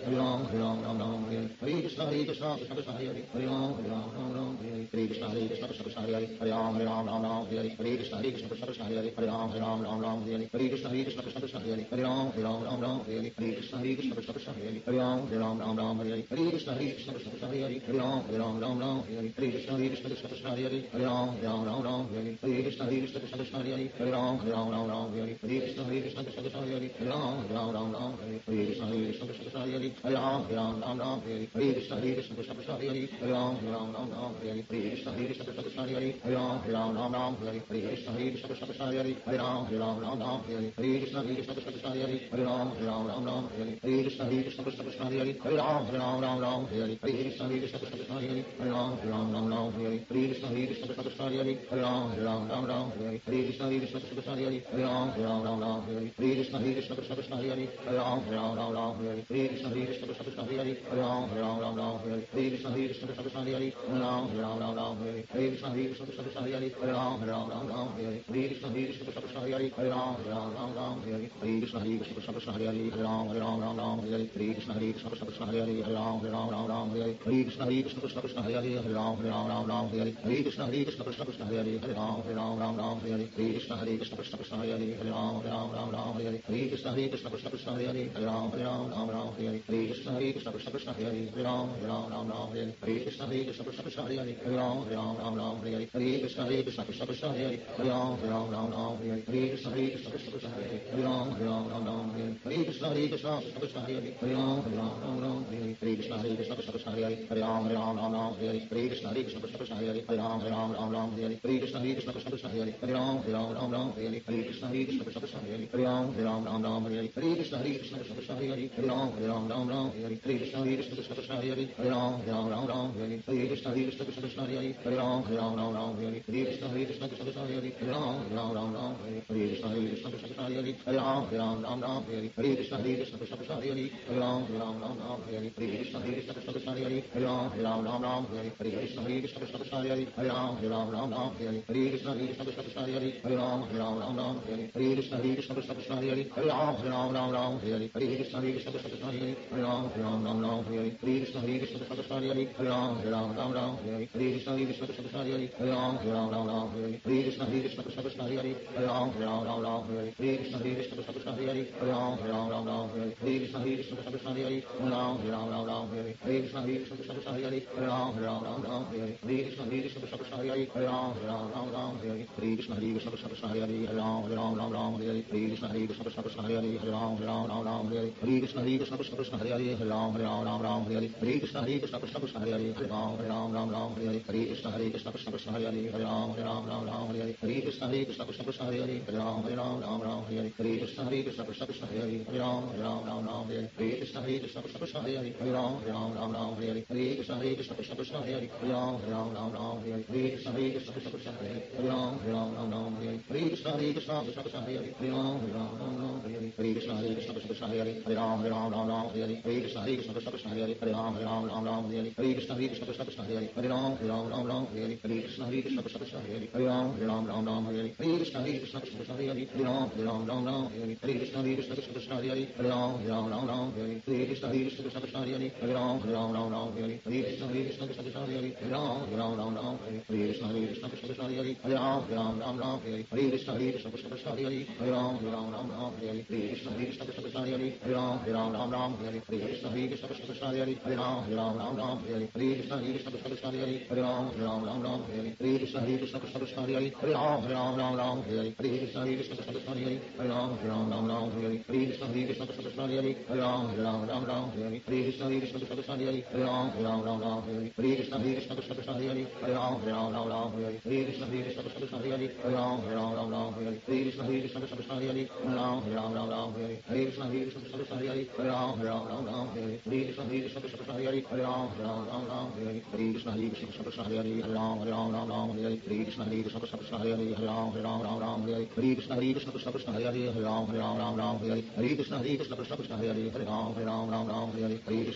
Hare Ram, Hare Ram, Ram Ram, Hare Hare Krishna, Hare Krishna, Krishna Krishna, Hare Hare, Hare Ram, Hare Ram, Ram Ram, Hare Hare Krishna, Hare Krishna, Krishna Krishna, Hare Hare, Hare Ram, Hare Ram, Ram Ram, Hare Hare Krishna, Hare Krishna, Krishna Krishna, Hare Hare, Hare Ram, Hare Ram, Ram Ram, Hare Hare Krishna, Hare Krishna, Krishna Krishna, Hare Hare, Hare Ram, Hare Ram, Ram Ram, Hare Hare Krishna, Hare Krishna, Krishna Krishna, Hare Hare, Hare Ram, Hare Ram, Ram Ram, Hare Hare Krishna, Hare Krishna, Krishna Krishna, Hare Hare, Hare Ram, Hare Ram, Ram Ram, Hare Hare Krishna, Hare Krishna, Krishna Krishna, Hare Hare, Hare Ram, Hare Ram, Ram Ram, Hare Hare Krishna, Hare Krishna, Krishna Krishna, Hare Hare, Hare Ram, Hare Ram, Ram Ram, Hare Hare Krishna, Hare Krishna, Krishna Krishna, Hare Hare, Hare Ram, Hare Ram, Ram Ram, Hare Krishna, Hare Krishna, Krishna Krishna, Hare Hare, Hare Ram, Hare Ram, Ram Ram, Hare Krishna, Hare Krishna, Krishna Krishna, Hare Hare, Hare Ram, Hare Ram, Ram Ram, Hare Krishna, Hare Krishna, Krishna Krishna, Hare Hare, Hare Ram, Hare Ram, Ram Ram, Hare Krishna, Hare Krishna, Krishna Krishna, Hare Hare, Hare Ram, Hare Ram, Ram Ram, Hare Krishna, Hare Krishna, Krishna Krishna, Hare Hare, Hare Ram, Hare Ram, Ram Ram, Hare Krishna, Hare Krishna, Krishna Krishna, Hare Hare, Hare Ram, Hare Ram, Ram Ram, Hare Krishna, Hare Krishna, Krishna Krishna, Hare Hare, Hare Ram, Hare Ram, Ram Ram, Hare Krishna, Hare Krishna, Krishna Krishna, Hare Hare, Hare Ram, Hare Ram, Ram Ram, Hare Krishna, Hare Krishna, Krishna Krishna, Hare Hare, Hare Ram, Hare Ram, Ram Ram, Hare Krishna, Hare Krishna, Krishna Krishna, Hare Hare, Hare Ram, Hare Ram, Ram Ram, Hare Krishna, Hare Krishna, Krishna Krishna, Hare Hare, Hare Ram, Hare Ram, Ram Ram, Hare Krishna, Hare Krishna, Krishna Krishna, Hare Hare, Hare Ram, Hare Ram, Ram Ram, Hare Krishna, Hare Krishna, Krishna Krishna, Hare Hare, Hare Ram, Hare Ram, Ram Ram, Hare Krishna, Hare Krishna, Krishna Krishna, Hare Hare, Hare Ram, Hare Ram, Ram Ram, Hare Krishna, Hare Krishna, Krishna Krishna, Hare Hare, Hare Ram, Hare Ram, Ram Ram, Hare Krishna, Hare Krishna, Krishna Krishna, Hare Hare, Hare Ram, Hare Ram, Ram Ram, Hare Krishna, Hare Krishna, Krishna Krishna, Hare Hare, Hare Ram, Hare Ram, Ram Ram, Hare Krishna, Hare Krishna, Krishna Krishna, Hare Hare, Hare Ram, Hare Ram, Ram Ram, Hare Krishna, Hare Krishna, Krishna Krishna, Hare Hare, Hare Ram, Hare Ram, Ram Ram, Hare Krishna, Hare Krishna, Krishna Krishna, Hare Hare, Hare Ram, Hare Ram, Ram Ram, Hare Krishna, Hare Krishna, Krishna Krishna, Hare Hare, Hare Ram, Hare Ram, Ram Ram, Hare Krishna, Hare Krishna, Krishna Krishna, Hare Hare, Hare Ram, Hare Ram, Ram Ram, Hare Krishna, Hare Krishna, Krishna Krishna, Hare Hare, Hare Ram, Hare Ram, Ram Ram, Hare Krishna, Hare Krishna, Krishna Krishna, Hare Hare, Hare Ram, Hare Ram, Ram Ram, Hare Krishna, Hare Krishna, Krishna Krishna, Hare Hare, Hare Ram, Hare Ram, Ram Ram, Hare Krishna, Hare Krishna, Krishna Krishna, Hare Hare, Hare Ram, Hare Ram, Ram Ram, Hare Krishna, Hare Krishna, Krishna Krishna, Hare Hare, Hare Ram, Hare Ram, Ram Ram, Hare Krishna, Hare Krishna, Krishna Krishna, Hare Hare, Hare Ram, Hare Ram, Ram Ram, Hare Krishna, Hare Krishna, Krishna Krishna, Hare Hare, Hare Ram, Hare Ram, Ram Ram, Hare Krishna, Hare Krishna, Krishna Krishna, Hare Hare, Hare Ram, Hare Ram, Ram Ram, Hare Krishna, Hare Krishna, Krishna Krishna, Hare Hare, Hare Ram, Hare Ram, Ram Ram, Hare Krishna, Hare Krishna, Krishna Krishna, Hare Hare, Hare Ram, Hare Ram, Ram Ram, Hare Krishna, Hare Krishna, Krishna Krishna, Hare Hare, Hare Ram, Hare Ram, Ram Ram, Hare Krishna, Hare Krishna, Krishna Krishna, Hare Hare, Hare Ram, Hare Ram, Ram Ram, Hare Krishna, Hare Krishna, Krishna Krishna, Hare Hare, Hare Ram, Hare Ram, Ram Ram, Hare Krishna, Hare Krishna, Krishna Krishna, Hare Hare, Hare Ram, Hare Ram, Ram Ram, Hare Krishna, Hare Krishna, Krishna Krishna, Hare Hare, Hare Ram, Hare Ram, Ram Ram, Hare Krishna, Hare Krishna, Krishna Krishna, Hare Hare, Hare Ram, Hare Ram, Ram Ram, Hare Krishna, Hare Krishna, Krishna Krishna, Hare Hare, Hare Ram, Hare Ram, Ram Ram, Hare Krishna, Hare Krishna, Krishna Krishna, Hare Hare, Hare Ram, Hare Ram, Ram Ram, Hare Krishna, Hare Krishna, Krishna Krishna, Hare Hare, Hare Ram, Hare Ram, Ram Ram, Hare Krishna, Hare Krishna, Krishna Krishna, Hare Hare, Hare Ram, Hare Ram, Ram Ram, Hare Krishna, Hare Krishna, Krishna Krishna, Hare Hare, Hare Ram, Hare Ram, Ram Ram, Hare Krishna, Hare Krishna, Krishna Krishna, Hare Hare, Hare Ram, Hare Ram, Ram Ram, Hare Krishna, Hare Krishna, Krishna Krishna, Hare Hare, Hare Ram, Hare Ram, Ram Ram, Hare Krishna, Hare Krishna, Krishna Krishna, Hare Hare, Hare Ram, Hare Ram, Ram Ram, Hare Krishna, Hare Krishna, Krishna Krishna, Hare Hare, Hare Ram, Hare Ram, Ram Ram, Hare Krishna, Hare Krishna, Krishna Krishna, Hare Hare, Hare Ram, Hare Ram, Ram Ram, Hare Krishna, Hare Krishna, Krishna Krishna, Hare Hare, Hare Ram, Hare Ram, Ram Ram, Hare Krishna, Hare Krishna, Krishna Krishna, Hare Hare, Hare Ram, Hare Ram, Ram Ram, Hare Krishna, Hare Krishna, Krishna Krishna, Hare Hare, Hare Ram, Hare Ram, Ram Ram, Hare Krishna, Hare Krishna, Krishna Krishna, Hare Hare, Hare Ram, Hare Ram, Ram Ram, Hare Krishna, Hare Krishna, Krishna Krishna, Hare Hare, Hare Ram, Hare Ram, Ram Ram, Hare Krishna, Hare Krishna, Krishna Krishna, Hare Hare, Hare Ram, Hare Ram, Ram Ram, Hare Krishna, Hare Krishna, Krishna Krishna, Hare Hare, Hare Ram, Hare Ram, Ram Ram, Hare Krishna, Hare Krishna, Krishna Krishna, Hare Hare, Hare Ram, Hare Ram, Ram Ram, Hare Krishna, Hare Krishna, Krishna Krishna, Hare Hare, Hare Ram, Hare Ram, Ram Ram, Hare Krishna, Hare Krishna, Krishna Krishna, Hare Hare, Hare Ram, Hare Ram, Ram Ram, Hare Krishna, Hare Krishna, Krishna Krishna, Hare Hare, Hare Ram, Hare Ram, Ram Ram, Hare Krishna, Hare Krishna, Krishna Krishna, Hare Hare, Hare Ram, Hare Ram, Ram Ram, Hare Krishna, Hare Krishna, Krishna Krishna, Hare Hare, Hare Ram, Hare Ram, Ram Ram, Hare Krishna, Hare Krishna, Krishna Krishna, Hare Hare, Hare Ram, Hare Ram, Ram Ram, Hare Krishna, Hare Krishna, Krishna Krishna, Hare Hare, Hare Ram, Hare Ram, Ram Ram, Hare Krishna, Hare Krishna, Krishna Krishna, Hare Hare, Hare Ram, Hare Ram, Ram Ram, Hare Krishna, Hare Krishna, Krishna Krishna, Hare Hare, Hare Ram, Hare Ram, Ram Ram, Hare Krishna, Hare Krishna, Krishna Krishna, Hare Hare, Hare Ram, Hare Ram, Ram Ram, Hare Krishna, Hare Krishna, Krishna Krishna, Hare Hare, Hare Ram, Hare Ram, Ram Ram, Hare Krishna, Hare Krishna, Krishna Krishna, Hare Hare, Hare Ram, Hare Ram, Ram Ram, Hare Krishna, Hare Krishna, Krishna Krishna, Hare Hare, Hare Ram, Hare Ram, Ram Ram, Hare Krishna, Hare Krishna, Krishna Krishna, Hare Hare, Hare Ram, Hare Ram, Ram Ram, Hare Krishna, Hare Krishna, Krishna Krishna, Hare Hare, Hare Ram, Hare Ram, Ram Ram, Hare Krishna, Hare Krishna, Krishna Krishna, Hare Hare, Hare Ram, Hare Ram, Ram Ram, Hare Krishna, Hare Krishna, Krishna Krishna, Hare Hare, Hare Ram, Hare Ram, Ram Ram, Hare Krishna, Hare Krishna, Krishna Krishna, Hare Hare, Hare Ram, Hare Ram, Ram Ram, Hare Krishna, Hare Krishna, Krishna Krishna, Hare Hare, Hare Ram, Hare Ram, Ram Ram, Hare Krishna, Hare Krishna, Krishna Krishna, Hare Hare, Hare Ram, Hare Ram, Ram Ram, Hare Krishna, Hare Krishna, Krishna Krishna, Hare Hare, Hare Ram, Hare Ram, Ram Ram, Hare Krishna, Hare Krishna, Krishna Krishna, Hare Hare, Hare Ram, Hare Ram, Ram Ram, Hare Krishna, Hare Krishna, Krishna Krishna, Hare Hare, Hare Ram, Hare Ram, Ram Ram, Hare Krishna, Hare Krishna, Krishna Krishna, Hare Hare, Hare Ram, Hare Ram, Ram Ram, Hare Krishna, Hare Krishna, Krishna Krishna, Hare Hare, Hare Ram, Hare Ram, Ram Ram, Hare Krishna, Hare Krishna, Krishna Krishna, Hare Hare, Hare Ram, Hare Ram, Ram Ram, Hare Krishna, Hare Krishna, Krishna Krishna, Hare Hare, Hare Ram, Hare Ram, Ram Ram, Hare Krishna, Hare Krishna, Krishna Krishna, Hare Hare, Hare Ram, Hare Ram, Ram Ram, Hare Krishna,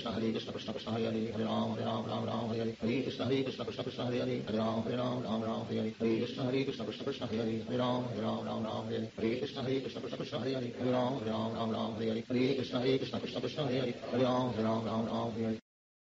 Krishna Hare Krishna Krishna Krishna Hare Hare Hare Ram Hare Ram Ram Ram Hare Hare Hare Krishna Hare Krishna Krishna Krishna Hare Hare Hare Ram Hare Ram Ram Ram Hare Hare Hare Krishna Hare Krishna Krishna Krishna Hare Hare Hare Ram Hare Ram Ram Ram Hare Hare Hare Krishna Hare Krishna Krishna Krishna Hare Hare Hare Ram Hare Ram Ram Ram Hare Hare Hare Krishna Hare Krishna Krishna Krishna Hare Hare Hare Ram Hare Ram Ram Ram Hare Hare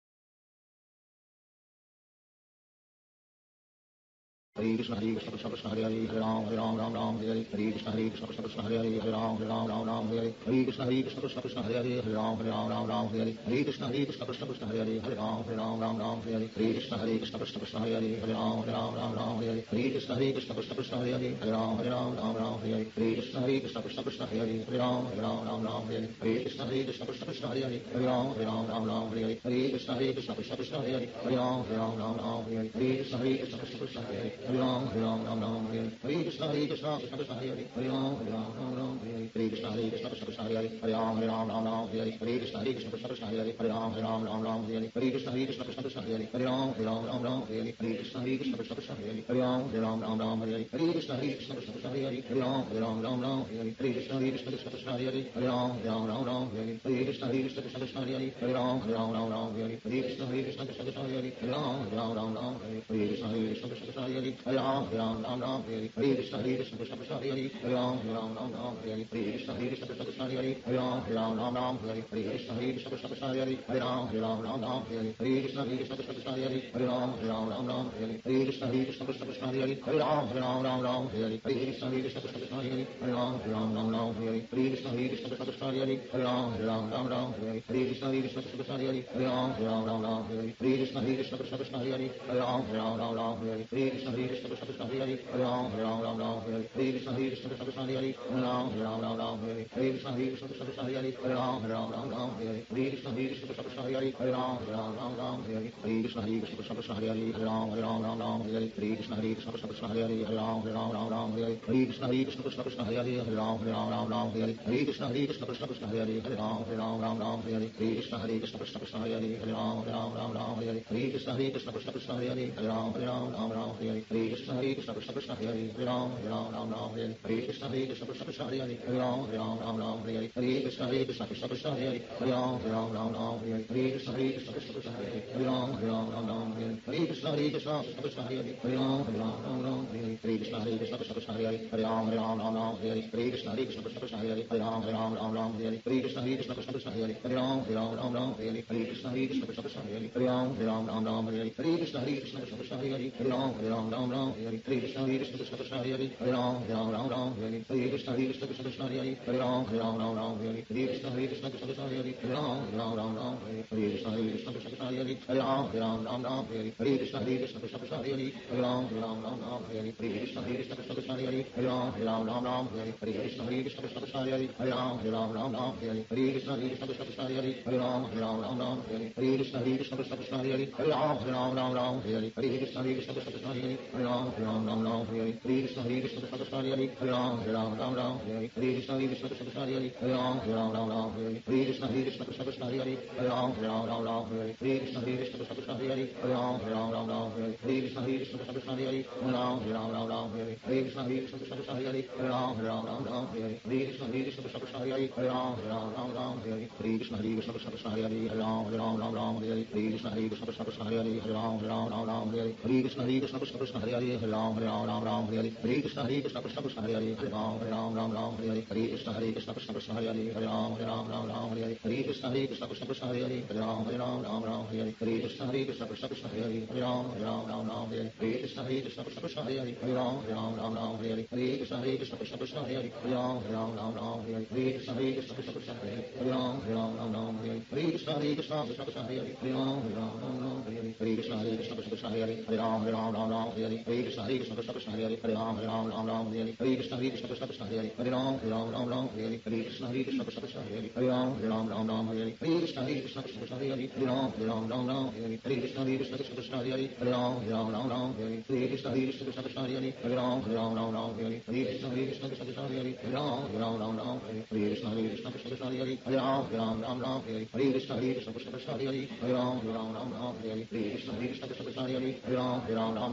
Hare Krishna Hare Krishna Krishna Krishna Hare Hare Hare Ram Hare Ram Ram Ram Hare Hare Hare Krishna Hare Krishna Krishna Krishna Hare Hare Hare Ram Hare Ram Ram Ram Hare Hare Hare Krishna Hare Krishna Krishna Krishna Hare Hare Hare Ram Hare Ram Ram Ram Hare Hare Hare Krishna Hare Krishna Krishna Krishna Hare Hare Hare Ram Hare Ram Ram Ram Hare Hare Hare Krishna Hare Krishna Krishna Krishna Hare Hare Hare Ram Hare Ram Ram Ram Hare Hare Hare Krishna Hare Krishna Krishna Krishna Hare Hare Hare Ram Hare Ram Ram Ram Hare Hare Krishna Hare Krishna Krishna Krishna Hare Hare Hare Ram Hare Ram Ram Ram Hare Hare Krishna Hare Krishna Krishna Krishna Hare Hare Hare Ram Hare Ram Ram Ram Hare Hare Hare Krishna Hare Krishna Krishna Krishna Hare Hare Hare Ram Hare Ram Ram Ram Hare Hare Krishna Hare Krishna Krishna Krishna Hare Hare Hare Ram Hare Ram Ram Ram Hare Hare Hare Krishna Hare Krishna Krishna Krishna Hare Hare Hare Ram Hare Ram Ram Ram Hare Hare Hare Krishna Hare Krishna Krishna Krishna Hare Hare Hare Ram Hare Ram Ram Ram Hare Hare Hare Krishna Hare Krishna Krishna Krishna Hare Hare Hare Ram Hare Ram Ram Ram Hare Hare Hare Krishna Hare Krishna Krishna Krishna Hare Hare Hare Ram Hare Ram Ram Ram Hare Hare Hare Krishna Hare Krishna Krishna Krishna Hare Hare Hare Ram Hare Ram Ram Ram Hare Hare Hare Krishna Hare Krishna Krishna Krishna Hare Hare Hare Ram Hare Ram Ram Ram Hare Hare Hare Krishna Hare Krishna Krishna Krishna Hare Hare Hare Ram Hare Ram Ram Ram Hare Hare Hare Krishna Hare Krishna Krishna Krishna Hare Hare Hare Ram Hare Ram Ram Ram Hare Hare Hare Krishna Hare Krishna Krishna Krishna Hare Hare Hare Ram Hare Ram Ram Ram Hare Hare Krishna Hare Krishna Krishna Krishna Hare Hare Hare Ram Hare Ram Ram Ram Hare Hare Krishna Hare Krishna Krishna Krishna Hare Hare Hare Ram Hare Ram Ram Ram Hare Hare Krishna Hare Krishna Krishna Krishna Hare Hare Hare Ram Hare Ram Ram Ram Hare Hare Krishna Hare Krishna Krishna Krishna Hare Hare Hare Ram Hare Ram Ram Ram Hare Hare Krishna Hare Krishna Krishna Krishna Hare Hare Hare Ram Hare Ram Ram Ram Hare Hare Krishna Hare Krishna Krishna Krishna Hare Hare Hare Ram Hare Ram Ram Ram Hare Hare Krishna Hare Krishna Krishna Krishna Hare Hare Hare Ram Hare Ram Ram Ram Hare Hare Krishna Hare Krishna Krishna Krishna Hare Hare Hare Ram Hare Ram Ram Ram Hare Hare Krishna Hare Krishna Krishna Krishna Hare Hare Hare Ram Hare Ram Ram Ram Hare Hare Krishna Hare Krishna Krishna Krishna Hare Hare Hare Ram Hare Ram Ram Ram Hare Hare Krishna Hare Krishna Krishna Krishna Hare Hare Hare Ram Hare Ram Ram Ram Hare Hare Krishna Hare Krishna Krishna Krishna Hare Hare Ram Hare Ram Ram Ram Hare Hare Krishna Hare Krishna Krishna Krishna Hare Hare Ram Hare Ram Ram Ram Hare Hare Krishna Hare Krishna Krishna Krishna Hare Hare Ram Hare Ram Ram Ram Hare Hare Krishna Hare Krishna Krishna Krishna Hare Hare Ram Hare Ram Ram Ram Hare Hare Krishna Hare Krishna Krishna Krishna Hare Hare Ram Hare Ram Ram Ram Hare Hare Krishna Hare Krishna Krishna Krishna Hare Hare Ram Hare Ram Ram Ram Hare Hare Krishna Hare Krishna Krishna Krishna Hare Hare Ram Hare Ram Ram Ram Hare Hare Krishna Hare Krishna Krishna Krishna Hare Hare Ram Hare Ram Ram Ram Hare Hare Krishna Hare Krishna Krishna Krishna Hare Hare Ram Hare Ram Ram Ram Hare Hare Krishna Hare Krishna Krishna Krishna Hare Hare Ram Hare Ram Ram Ram Hare Hare Krishna Hare Krishna Krishna Krishna Hare Hare Ram Hare Ram Ram Ram Hare Hare Krishna Hare Krishna Krishna Krishna Hare Hare Ram Hare Ram Ram Ram Hare Hare Krishna Hare Krishna Krishna Krishna Hare Hare Ram Hare Ram Ram Ram Hare Hare Krishna Hare Krishna Krishna Krishna Hare Hare Ram Hare Ram Ram Ram Hare Hare Krishna Hare Krishna Krishna Krishna Hare Hare Ram Hare Ram Ram Ram Hare Hare Krishna Hare Krishna Krishna Krishna Hare Hare Ram Hare Ram Ram Ram Hare Hare Krishna Hare Krishna Krishna Krishna Hare Hare Ram Hare Ram Ram Ram Hare Hare Krishna Hare Krishna Krishna Krishna Hare Hare Ram Hare Ram Ram Ram Hare Hare Krishna Hare Krishna Krishna Krishna Hare Hare Ram Hare Ram Ram Ram Hare Hare Krishna Hare Krishna Krishna Krishna Hare Hare Ram Hare Ram Ram Ram Hare Hare Krishna Hare Krishna Krishna Krishna Hare Hare Ram Hare Ram Ram Ram Hare Hare Krishna Hare Krishna Krishna Krishna Hare Hare Ram Hare Ram Ram Ram Hare Hare Krishna Hare Krishna Krishna Krishna Hare Hare Ram Hare Ram Ram Ram Hare Hare Krishna Hare Krishna Krishna Krishna Hare Hare Ram Hare Ram Ram Ram Hare Hare Krishna Hare Krishna Krishna Krishna Hare Hare Ram Hare Ram Ram Ram Hare Hare Krishna Hare Krishna Krishna Krishna Hare Hare Ram Hare Ram Ram Ram Hare Hare Krishna Hare Krishna Krishna Krishna Hare Hare Ram Hare Ram Ram Ram Hare Hare Krishna Hare Krishna Krishna Krishna Hare Hare Ram Hare Ram Ram Ram Hare Hare Krishna Hare Krishna Krishna Krishna Hare Hare Ram Hare Ram Ram Ram Hare Hare Krishna Hare Krishna Krishna Krishna Hare Hare Ram Hare Ram Ram Ram Hare Hare Krishna Hare Krishna Krishna Krishna Hare Hare Ram Hare Ram Ram Ram Hare Hare Krishna Hare Krishna Krishna Krishna Hare Hare Ram Hare Ram Ram Ram Hare Hare Krishna Hare Krishna Krishna Krishna Hare Hare Ram Hare Ram Ram Ram Hare Hare Krishna Hare Krishna Krishna Krishna Hare Hare Ram Hare Ram Ram Ram Hare Hare Krishna Hare Krishna Krishna Krishna Hare Hare Ram Hare Ram Ram Ram Hare Hare Krishna Hare Krishna Krishna Krishna Hare Hare Ram Hare Ram Ram Ram Hare Hare Krishna Hare Krishna Krishna Krishna Hare Hare Ram Hare Ram Ram Ram Hare Hare Krishna Hare Krishna Krishna Krishna Hare Hare Ram Hare Ram Ram Ram Hare Hare Krishna Hare Krishna Krishna Krishna Hare Hare Ram Hare Ram Ram Ram Hare Hare Krishna Hare Krishna Krishna Krishna Hare Hare Ram Hare Ram Ram Ram Hare Hare Krishna Hare Krishna Krishna Krishna Hare Hare Ram Hare Ram Ram Ram Hare Hare Krishna Hare Krishna Krishna Krishna Hare Hare Ram Hare Ram Ram Ram Hare Hare Krishna Hare Krishna Krishna Krishna Hare Hare Ram Hare Ram Ram Ram Hare Hare Krishna Hare Krishna Krishna Krishna Hare Hare Ram Hare Ram Ram Ram Hare Hare Krishna Hare Krishna Krishna Krishna Hare Hare Ram Hare Ram Ram Ram Hare Hare Krishna Hare Krishna Krishna Krishna Hare Hare Ram Hare Ram Ram Ram Hare Hare Krishna Hare Krishna Krishna Krishna Hare Hare Ram Hare Ram Ram Ram Hare Hare Krishna Hare Krishna Krishna Krishna Hare Hare Ram Hare Ram Ram Ram Hare Hare Krishna Hare Krishna Krishna Krishna Hare Hare Ram Hare Ram Ram Ram Hare Hare Krishna Hare Krishna Krishna Krishna Hare Hare Ram Hare Ram Ram Ram Hare Hare Krishna Hare Krishna Krishna Krishna Hare Hare Ram Hare Ram Ram Ram Hare Hare Krishna Hare Krishna Krishna Krishna Hare Hare Ram Hare Ram Ram Ram Hare Hare Krishna Hare Krishna Krishna Krishna Hare Hare Ram Hare Ram Ram Ram Hare Hare Krishna Hare Krishna Krishna Krishna Hare Hare Ram Hare Ram Ram Ram Hare Hare Krishna Hare Krishna Krishna Krishna Hare Hare Ram Hare Ram Ram Ram Hare Hare Krishna Hare Krishna Krishna Krishna Hare Hare Ram Hare Ram Ram Ram Hare Hare Krishna Hare Krishna Krishna Krishna Hare Hare Ram Hare Ram Ram Ram Hare Hare Krishna Hare Krishna Krishna Krishna Hare Hare Ram Hare Ram Ram Ram Hare Hare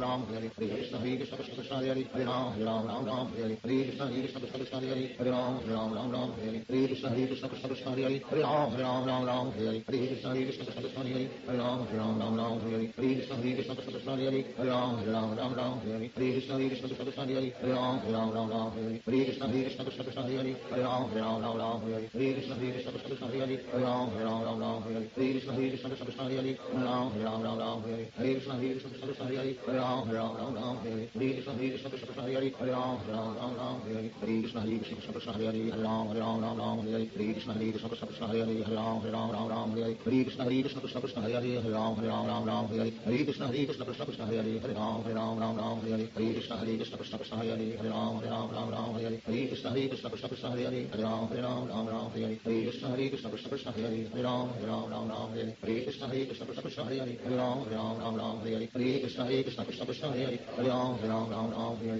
Hare Krishna Hare Krishna Krishna Krishna Hare Hare Ram Hare Ram Ram Ram Hare Hare Krishna Hare Krishna Krishna Krishna Hare Hare Ram Hare Ram Ram Ram Hare Hare Krishna Hare Krishna Krishna Krishna Hare Hare Ram Hare Ram Ram Ram Hare Hare Krishna Hare Krishna Krishna Krishna Hare Hare Ram Hare Ram Ram Ram Hare Hare Krishna Hare Krishna Krishna Krishna Hare Hare Ram Hare Ram Ram Ram Hare Hare Krishna Hare Krishna Krishna Krishna Hare Hare Ram Hare Ram Ram Ram Hare Hare Krishna Hare Krishna Krishna Krishna Hare Hare Ram Hare Ram Ram Ram Hare Hare Krishna Hare Krishna Krishna Krishna Hare Hare Ram Hare Ram Ram Ram Hare Hare Krishna Hare Krishna Krishna Krishna Hare Hare Ram Hare Ram Ram Ram Hare Hare Krishna Hare Krishna Krishna Krishna Hare Hare Ram Hare Ram Ram Ram Hare Hare Krishna Hare Krishna Krishna Krishna Hare Hare Ram Hare Ram Ram Ram Hare Hare Krishna Hare Krishna Krishna Krishna Hare Hare Ram Hare Ram Ram Ram Hare Hare Krishna Hare Krishna Krishna Krishna Hare Hare Ram Hare Ram Ram Ram Hare Hare Krishna Hare Krishna Krishna Krishna Hare Hare Ram Hare Ram Ram Ram Hare Hare Krishna Hare Krishna Krishna Krishna Hare Hare Ram Hare Ram Ram Ram Hare Hare Krishna Hare Krishna Krishna Krishna Hare Hare Ram Hare Ram Ram Ram Hare Hare Krishna Hare Krishna Krishna Krishna Hare Hare Ram Hare Ram Ram Ram Hare Hare Krishna Hare Krishna Krishna Krishna Hare Hare Ram Hare Ram Ram Ram Hare Hare Krishna Hare Krishna Krishna Krishna Hare Hare Ram Hare Ram Ram Ram Hare Hare Krishna Hare Krishna Krishna Krishna Hare Hare Ram Hare Ram Ram Ram Hare Hare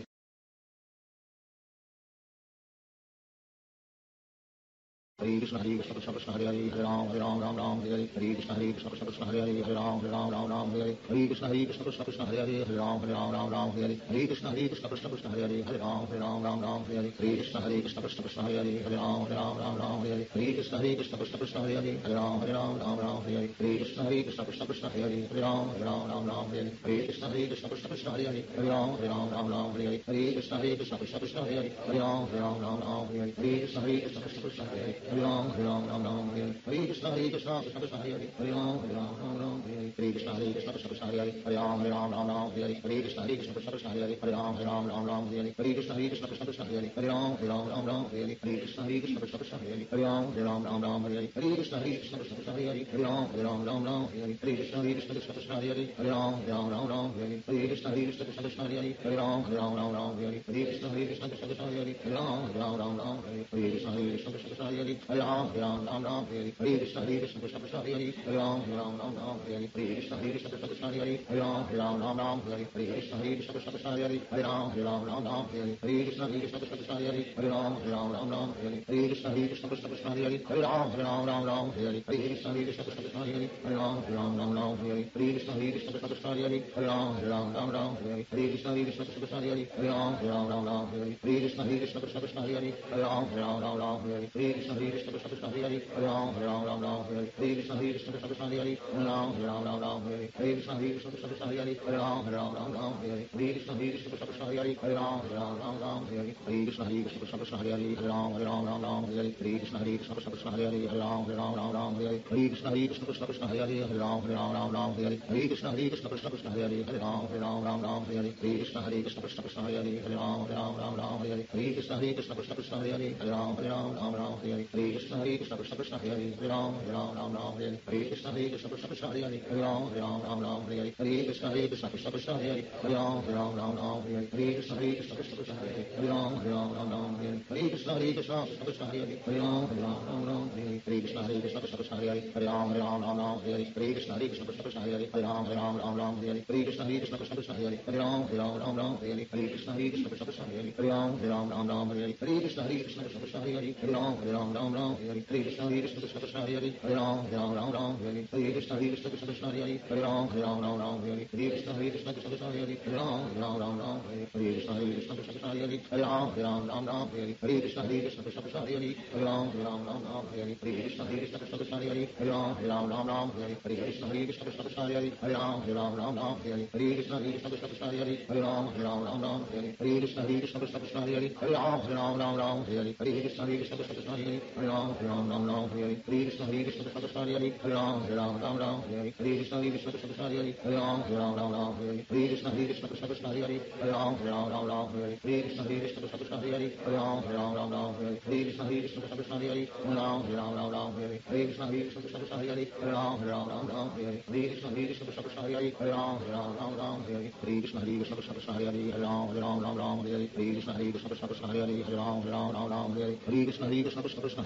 Hare Krishna Hare Krishna Krishna Krishna Hare Hare Ram Hare Ram Ram Ram Hare Hare Hare Krishna Hare Krishna Krishna Krishna Hare Hare Ram Hare Ram Ram Ram Hare Hare Hare Krishna Hare Krishna Krishna Krishna Hare Hare Ram Hare Ram Ram Ram Hare Hare Hare Krishna Hare Krishna Krishna Krishna Hare Hare Ram Hare Ram Ram Ram Hare Hare Hare Krishna Hare Krishna Krishna Krishna Hare Hare Ram Hare Ram Ram Ram Hare Hare Hare Krishna Hare Krishna Krishna Krishna Hare Hare Ram Hare Ram Ram Ram Hare Hare Hare Krishna Hare Krishna Krishna Krishna Hare Hare Ram Hare Ram Ram Ram Hare Hare Hare Krishna Hare Krishna Krishna Krishna Hare Hare Ram Hare Ram Ram Ram Hare Hare Hare Krishna Hare Krishna Krishna Krishna Hare Hare Ram Hare Ram Ram Ram Hare Hare Hare Krishna Hare Krishna Krishna Krishna Hare Hare Ram Hare Ram Ram Ram Hare Hare Hare Krishna Hare Krishna Krishna Krishna Hare Hare Ram Hare Ram Ram Ram Hare Hare Hare Krishna Hare Krishna Krishna Krishna Hare Hare Ram Hare Ram Ram Ram Hare Hare Hare Krishna Hare Krishna Krishna Krishna Hare Hare Ram Hare Ram Ram Ram Hare Hare Hare Krishna Hare Krishna Krishna Krishna Hare Hare Ram Hare Ram Ram Ram Hare Hare Hare Krishna Hare Krishna Krishna Krishna Hare Hare Ram Hare Ram Ram Ram Hare Hare Hare Krishna Hare Krishna Krishna Krishna Hare Hare Ram Hare Ram Ram Ram Hare Hare Krishna Hare Krishna Krishna Krishna Hare Hare Ram Hare Ram Ram Ram Hare Hare Krishna Hare Krishna Krishna Krishna Hare Hare Ram Hare Ram Ram Ram Hare Hare Krishna Hare Krishna Krishna Krishna Hare Hare Ram Hare Ram Ram Ram Hare Hare Krishna Hare Krishna Krishna Krishna Hare Hare Ram Hare Ram Ram Ram Hare Hare Krishna Hare Krishna Krishna Krishna Hare Hare Ram Hare Ram Ram Ram Hare Hare Krishna Hare Krishna Krishna Krishna Hare Hare Ram Hare Ram Ram Ram Hare Hare Krishna Hare Krishna Krishna Krishna Hare Hare Ram Hare Ram Ram Ram Hare Hare Krishna Hare Krishna Krishna Krishna Hare Hare Ram Hare Ram Ram Ram Hare Hare Krishna Hare Krishna Krishna Krishna Hare Hare Ram Hare Ram Ram Ram Hare Hare Krishna Hare Krishna Krishna Krishna Hare Hare Ram Hare Ram Ram Ram Hare Hare Krishna Hare Krishna Krishna Krishna Hare Hare Ram Hare Ram Ram Ram Hare Hare Krishna Hare Krishna Krishna Krishna Hare Hare Ram Hare Ram Ram Ram Hare Hare Krishna Hare Krishna Krishna Krishna Hare Hare Ram Hare Ram Ram Ram Hare Hare Krishna Hare Krishna Krishna Krishna Hare Hare Ram Hare Ram Ram Ram Hare Hare Krishna Hare Krishna Krishna Krishna Hare Hare Ram Hare Ram Ram Ram Hare Hare Krishna Hare Krishna Krishna Krishna Hare Hare Ram Hare Ram Ram Ram Hare Hare Krishna Hare Krishna Krishna Krishna Hare Hare Ram Hare Ram Ram Ram Hare Hare Krishna Hare Krishna Krishna Krishna Hare Hare Ram Hare Ram Ram Ram Hare Hare Krishna Hare Krishna Krishna Krishna Hare Hare Ram Hare Ram Ram Ram Hare Hare Krishna Hare Krishna Krishna Krishna Hare Hare Ram Hare Ram Ram Ram Hare Hare Krishna Hare Krishna Krishna Krishna Hare Hare Ram Hare Ram Ram Ram Hare Hare Krishna Hare Krishna Krishna Krishna Hare Hare Ram Hare Ram Ram Ram Hare Hare Krishna Hare Krishna Krishna Krishna Hare Hare Ram Hare Ram Ram Ram Hare Hare Krishna Hare Krishna Krishna Krishna Hare Hare Ram Hare Ram Ram Ram Hare Hare Krishna Hare Krishna Krishna Krishna Hare Hare Ram Hare Ram Ram Ram Hare Hare Krishna Hare Krishna Krishna Krishna Hare Hare Ram Hare Ram Ram Ram Hare Hare Krishna Hare Krishna Krishna Krishna Hare Hare Ram Hare Ram Ram Ram Hare Hare Krishna Hare Krishna Krishna Krishna Hare Hare Ram Hare Ram Ram Ram Hare Hare Krishna Hare Krishna Krishna Krishna Hare Hare Ram Hare Ram Ram Ram Hare Hare Krishna Hare Krishna Krishna Krishna Hare Hare Ram Hare Ram Ram Ram Hare Hare Krishna Hare Krishna Krishna Krishna Hare Hare Ram Hare Ram Ram Ram Hare Hare Krishna Hare Krishna Krishna Krishna Hare Hare Ram Hare Ram Ram Ram Hare Hare Krishna Hare Krishna Krishna Krishna Hare Hare Ram Hare Ram Ram Ram Hare Hare Krishna Hare Krishna Krishna Krishna Hare Hare Ram Hare Ram Ram Ram Hare Hare Krishna Hare Krishna Krishna Krishna Hare Hare Ram Hare Ram Ram Ram Hare Hare Krishna Hare Krishna Krishna Krishna Hare Hare Ram Hare Ram Ram Ram Hare Hare Krishna Hare Krishna Krishna Krishna Hare Hare Ram Hare Ram Ram Ram Hare Hare Krishna Hare Krishna Krishna Krishna Hare Hare Ram Hare Ram Ram Ram Hare Hare Krishna Hare Krishna Krishna Krishna Hare Hare Ram Hare Ram Ram Ram Hare Hare Krishna Hare Krishna Krishna Krishna Hare Hare Ram Hare Ram Ram Ram Hare Hare Krishna Hare Krishna Krishna Krishna Hare Hare Ram Hare Ram Ram Ram Hare Hare Krishna Hare Krishna Krishna Krishna Hare Hare Ram Hare Ram Ram Ram Hare Hare Krishna Hare Krishna Krishna Krishna Hare Hare Ram Hare Ram Ram Ram Hare Hare Krishna Hare Krishna Krishna Krishna Hare Hare Ram Hare Ram Ram Ram Hare Hare Krishna Hare Krishna Krishna Krishna Hare Hare Ram Hare Ram Ram Ram Hare Hare Krishna Hare Krishna Krishna Krishna Hare Hare Ram Hare Ram Ram Ram Hare Hare Krishna Hare Krishna Krishna Krishna Hare Hare Ram Hare Ram Ram Ram Hare Hare Krishna Hare Krishna Krishna Krishna Hare Hare Ram Hare Ram Ram Ram Hare Hare Krishna Hare Krishna Krishna Krishna Hare Hare Ram Hare Ram Ram Ram Hare Hare Krishna Hare Krishna Krishna Krishna Hare Hare Ram Hare Ram Ram Ram Hare Hare Krishna Hare Krishna Krishna Krishna Hare Hare Ram Hare Ram Ram Ram Hare Hare Krishna Hare Krishna Krishna Krishna Hare Hare Ram Hare Ram Ram Ram Hare Hare Krishna Hare Krishna Krishna Krishna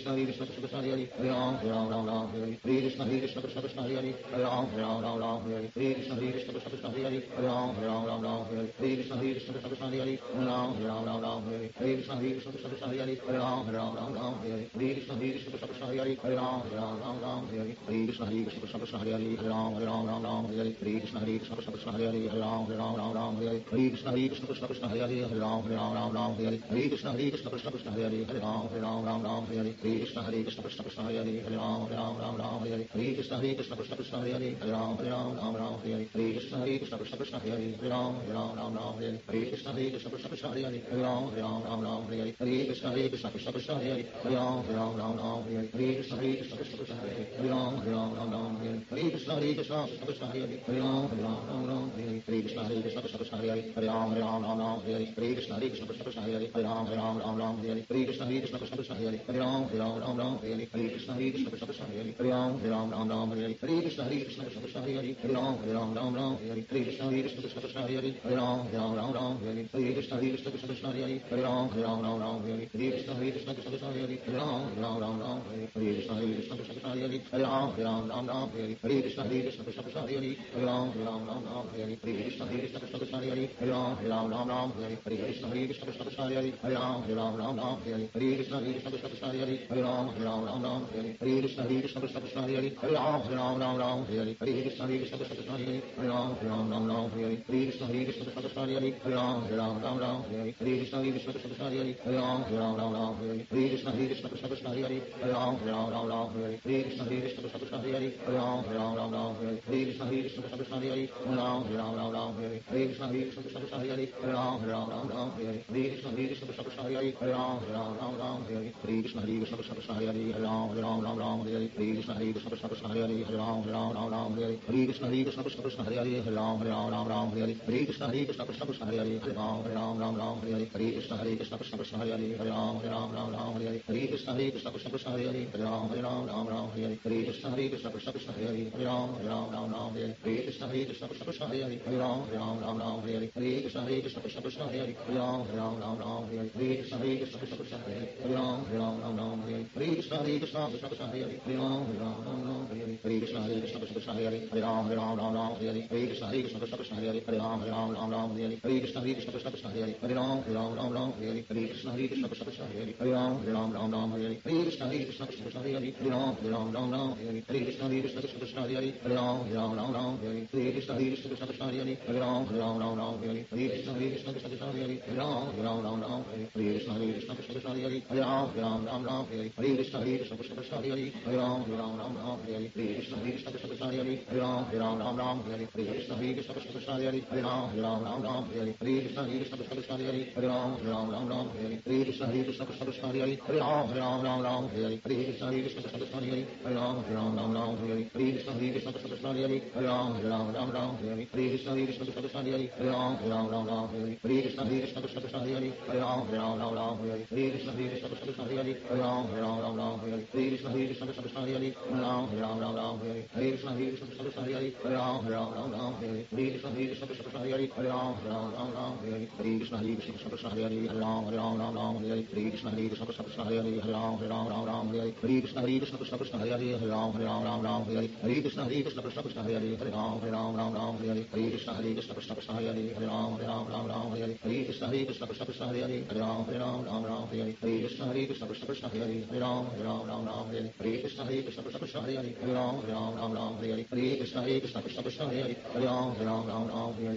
Krishna Hare Krishna Krishna Krishna Hare Hare Ram Hare Ram Ram Ram Hare Hare Krishna Hare Krishna Krishna Krishna Hare Hare Ram Hare Ram Ram Ram Hare Hare Krishna Hare Krishna Krishna Krishna Hare Hare Ram Hare Ram Ram Ram Hare Hare Krishna Hare Krishna Krishna Krishna Hare Hare Ram Hare Ram Ram Ram Hare Hare Krishna Hare Krishna Krishna Krishna Hare Hare Ram Hare Ram Ram Ram Hare Hare Krishna Hare Krishna Krishna Krishna Hare Hare Ram Hare Ram Ram Ram Hare Hare Krishna Hare Krishna Krishna Krishna Hare Hare Ram Hare Ram Ram Ram Hare Hare Krishna Hare Krishna Krishna Krishna Hare Hare Ram Hare Ram Ram Ram Hare Hare Krishna Hare Krishna Krishna Krishna Hare Hare Ram Hare Ram Ram Ram Hare Hare Krishna Hare Krishna Krishna Krishna Hare Hare Ram Hare Ram Ram Ram Hare Hare Krishna Hare Krishna Krishna Krishna Hare Hare Ram Hare Ram Ram Ram Hare Hare Krishna Hare Krishna Krishna Krishna Hare Hare Ram Hare Ram Ram Ram Hare Hare Krishna Hare Krishna Krishna Krishna Hare Hare Ram Hare Ram Ram Ram Hare Hare Krishna Hare Krishna Krishna Krishna Hare Hare Ram Hare Ram Ram Ram Hare Hare Krishna Hare Krishna Krishna Krishna Hare Hare Ram Hare Ram Ram Ram Hare Hare Krishna Hare Krishna Krishna Krishna Hare Hare Ram Hare Ram Ram Ram Hare Hare Krishna Hare Krishna Krishna Krishna Hare Hare Ram Hare Ram Ram Ram Hare Hare Krishna Hare Krishna Krishna Krishna Hare Hare Ram Hare Ram Ram Ram Hare Hare Krishna Hare Krishna Krishna Krishna Hare Hare Ram Hare Ram Ram Ram Hare Hare Krishna Hare Krishna Krishna Krishna Hare Hare Ram Hare Ram Ram Ram Hare Hare Krishna Hare Krishna Krishna Krishna Hare Hare Ram Hare Ram Ram Ram Hare Hare Krishna Hare Krishna Krishna Krishna Hare Hare Ram Hare Ram Ram Ram Ram Hare Krishna Hare Krishna Krishna Krishna Hare Hare Ram Ram Ram Ram Hare Krishna Hare Krishna Krishna Krishna Hare Hare Ram Ram Ram Ram Hare Krishna Hare Krishna Krishna Krishna Hare Hare Ram Ram Ram Ram Hare Krishna Hare Krishna Krishna Krishna Hare Hare Ram Ram Ram Ram Hare Krishna Hare Krishna Krishna Krishna Hare Hare Ram Ram Ram Ram Hare Krishna Hare Krishna Krishna Krishna Hare Hare Ram Ram Ram Ram Hare Krishna Hare Krishna Krishna Krishna Hare Hare Ram Ram Ram Ram Hare Krishna Hare Krishna Krishna Krishna Hare Hare Ram Ram Ram Ram Hare Krishna Hare Krishna Krishna Krishna Hare Hare Ram Ram Ram Ram Hare Krishna Hare Krishna Krishna Krishna Hare Hare Ram Ram Ram Ram Hare Krishna Hare Krishna Krishna Krishna Hare Hare Ram Ram Ram Ram Hare Krishna Hare Krishna Krishna Krishna Hare Hare Ram Ram Ram Ram Hare Krishna Hare Krishna Krishna Krishna Hare Hare Ram Ram Ram Ram Hare Krishna Hare Krishna Krishna Krishna Hare Hare Ram Ram Ram Ram Hare Krishna Hare Krishna Krishna Krishna Hare Hare Ram Ram Ram Ram Hare Krishna Hare Krishna Krishna Krishna Hare Hare Ram Ram Ram Ram Hare Krishna Hare Krishna Krishna Krishna Hare Hare Ram Ram Ram Ram Hare Krishna Hare Krishna Krishna Krishna Hare Hare Ram Ram Ram Ram Hare Krishna Hare Krishna Krishna Krishna Hare Hare Ram Ram Ram Ram Hare Krishna Hare Krishna Krishna Krishna Hare Hare Ram Ram Ram Ram Hare Krishna Hare Krishna Krishna Krishna Hare Hare Ram Ram Ram Ram Hare Krishna Hare Krishna Krishna Krishna Hare Hare Ram Ram Ram Ram Hare Krishna Hare Krishna Krishna Krishna Hare Hare Ram Ram Ram Ram Hare Krishna Hare Krishna Krishna Krishna Hare Hare Ram Ram Ram Ram Hare Krishna Hare Krishna Krishna Krishna Hare Hare Ram Ram Ram Ram Hare Krishna Hare Krishna Krishna Krishna Hare Hare Ram Ram Ram Ram Hare Krishna Hare Krishna Krishna Krishna Hare Hare Ram Ram Ram Ram Hare Krishna Hare Krishna Krishna Krishna Hare Hare Ram Ram Ram Ram Hare Krishna Hare Krishna Krishna Krishna Hare Hare Ram Ram Ram Ram Hare Krishna Hare Krishna Krishna Krishna Hare Hare Ram Ram Ram Ram Hare Krishna Hare Krishna Krishna Krishna Hare Hare Ram Ram Ram Ram Hare Krishna Hare Krishna Krishna Krishna Hare Hare Ram Ram Ram Ram Hare Krishna Hare Krishna Krishna Krishna Hare Hare Ram Ram Ram Ram Hare Krishna Hare Krishna Krishna Krishna Hare Hare Ram Ram Ram Ram Hare Krishna Hare Krishna Krishna Krishna Hare Hare Ram Ram Ram Ram Hare Krishna Hare Krishna Krishna Krishna Hare Hare Ram Ram Ram Ram Hare Krishna Hare Krishna Krishna Krishna Hare Hare Ram Ram Ram Ram Hare Krishna Hare Krishna Krishna Krishna Hare Hare Ram Ram Ram Ram Hare Krishna Hare Krishna Krishna Krishna Hare Hare Ram Ram Ram Ram Hare Krishna Hare Krishna Krishna Krishna Hare Hare Ram Ram Ram Ram Hare Krishna Hare Krishna Krishna Krishna Hare Hare Ram Ram Ram Ram Hare Krishna Hare Krishna Krishna Krishna Hare Hare Ram Ram Ram Ram Hare Krishna Hare Krishna Krishna Krishna Hare Hare Ram Ram Ram Ram Hare Krishna Hare Krishna Krishna Krishna Hare Hare Ram Ram Ram Ram Hare Krishna Hare Krishna Krishna Krishna Hare Hare Ram Ram Ram Ram Hare Krishna Hare Krishna Krishna Krishna Hare Hare Ram Ram Ram Ram Hare Krishna Hare Krishna Krishna Krishna Hare Hare Ram Ram Ram Ram Hare Krishna Hare Krishna Krishna Krishna Hare Hare Ram Ram Ram Ram Hare Krishna Hare Krishna Krishna Krishna Hare Hare Ram Ram Ram Ram Hare Krishna Hare Krishna Krishna Krishna Hare Hare Ram Ram Ram Ram Hare Krishna Hare Krishna Krishna Krishna Hare Hare Ram Ram Ram Ram Hare Krishna Hare Krishna Krishna Krishna Hare Hare Ram Ram Ram Ram Hare Krishna Hare Krishna Krishna Krishna Hare Hare Ram Ram Ram Ram Hare Krishna Hare Krishna Krishna Krishna Hare Hare Ram Ram Ram Ram Hare Krishna Hare Krishna Krishna Krishna Hare Hare Ram Ram Ram Ram Hare Krishna Hare Krishna Krishna Krishna Hare Hare Ram Ram Ram Ram Hare Krishna Hare Krishna Krishna Krishna Hare Hare Ram Ram Ram Ram Hare Krishna Hare Krishna Krishna Krishna Hare Hare Ram Ram Ram Ram Hare Krishna Hare Krishna Krishna Krishna Hare Hare Ram Ram Ram Ram Hare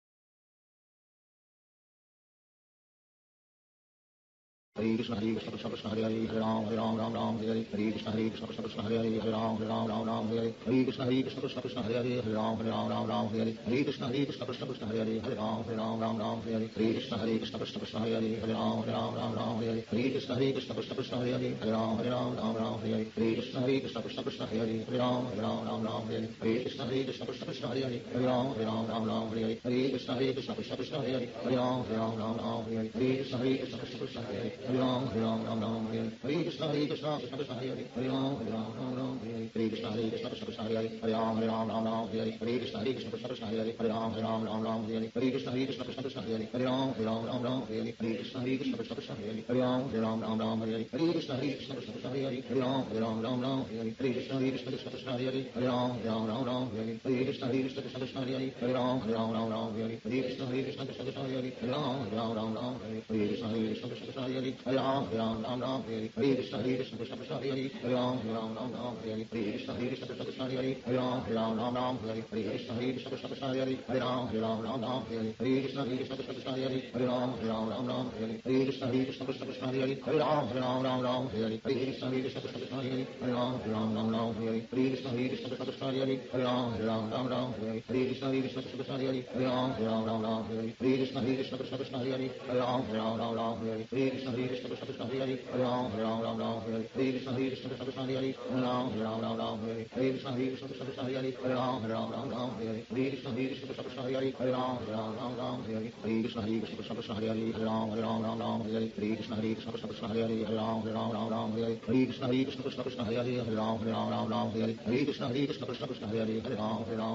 Hare Krishna Hare Krishna Krishna Krishna Hare Hare Ram Ram Ram Ram Hare Krishna Hare Krishna Krishna Krishna Hare Hare Ram Ram Ram Ram Hare Krishna Hare Krishna Krishna Krishna Hare Hare Ram Ram Ram Ram Hare Krishna Hare Krishna Krishna Krishna Hare Hare Ram Ram Ram Ram Hare Krishna Hare Krishna Krishna Krishna Hare Hare Ram Ram Ram Ram Hare Krishna Hare Krishna Krishna Krishna Hare Hare Ram Ram Ram Ram Hare Krishna Hare Krishna Krishna Krishna Hare Hare Ram Ram Ram Ram Hare Krishna Hare Krishna Krishna Krishna Hare Hare Ram Ram Ram Ram Hare Krishna Hare Krishna Krishna Krishna Hare Hare Ram Ram Ram Ram Hare Krishna Hare Krishna Krishna Krishna Hare Hare Ram Ram Ram Ram Hare Krishna Hare Krishna Krishna Krishna Hare Hare Ram Ram Ram Ram Hare Krishna Hare Krishna Krishna Krishna Hare Hare Ram Ram Ram Ram Hare Krishna Hare Krishna Krishna Krishna Hare Hare Ram Ram Ram Ram Hare Krishna Hare Krishna Krishna Krishna Hare Hare Ram Ram Ram Ram Hare Krishna Hare Krishna Krishna Krishna Hare Hare Ram Ram Ram Ram Hare Krishna Hare Krishna Krishna Krishna Hare Hare Ram Ram Ram Ram Hare Krishna Hare Krishna Krishna Krishna Hare Hare Ram Ram Ram Ram Hare Krishna Hare Krishna Krishna Krishna Hare Hare Ram Ram Ram Ram Hare Krishna Hare Krishna Krishna Krishna Hare Hare Ram Ram Ram Ram Hare Krishna Hare Krishna Krishna Krishna Hare Hare Ram Ram Ram Ram Hare Krishna Hare Krishna Krishna Krishna Hare Hare Ram Ram Ram Ram Hare Krishna Hare Krishna Krishna Krishna Hare Hare Ram Ram Ram Ram Hare Krishna Hare Krishna Krishna Krishna Hare Hare Ram Ram Ram Ram Hare Krishna Hare Krishna Krishna Krishna Hare Hare Ram Ram Ram Ram Hare Krishna Hare Krishna Krishna Krishna Hare Hare Ram Ram Ram Ram Hare Krishna Hare Krishna Krishna Krishna Hare Hare Ram Ram Ram Ram Hare Krishna Hare Krishna Krishna Krishna Hare Hare Ram Ram Ram Ram Hare Krishna Hare Krishna Krishna Krishna Hare Hare Ram Ram Ram Ram Hare Krishna Hare Krishna Krishna Krishna Hare Hare Ram Ram Ram Ram Hare Krishna Hare Krishna Krishna Krishna Hare Hare Ram Ram Ram Ram Hare Krishna Hare Krishna Krishna Krishna Hare Hare Ram Ram Ram Ram Hare Krishna Hare Krishna Krishna Krishna Hare Hare Ram Ram Ram Ram Hare Krishna Hare Krishna Krishna Krishna Hare Hare Ram Ram Ram Ram Hare Krishna Hare Krishna Krishna Krishna Hare Hare Ram Ram Ram Ram Hare Krishna Hare Krishna Krishna Krishna Hare Hare Ram Ram Ram Ram Hare Krishna Hare Krishna Krishna Krishna Hare Hare Ram Ram Ram Ram Hare Krishna Hare Krishna Krishna Krishna Hare Hare Ram Ram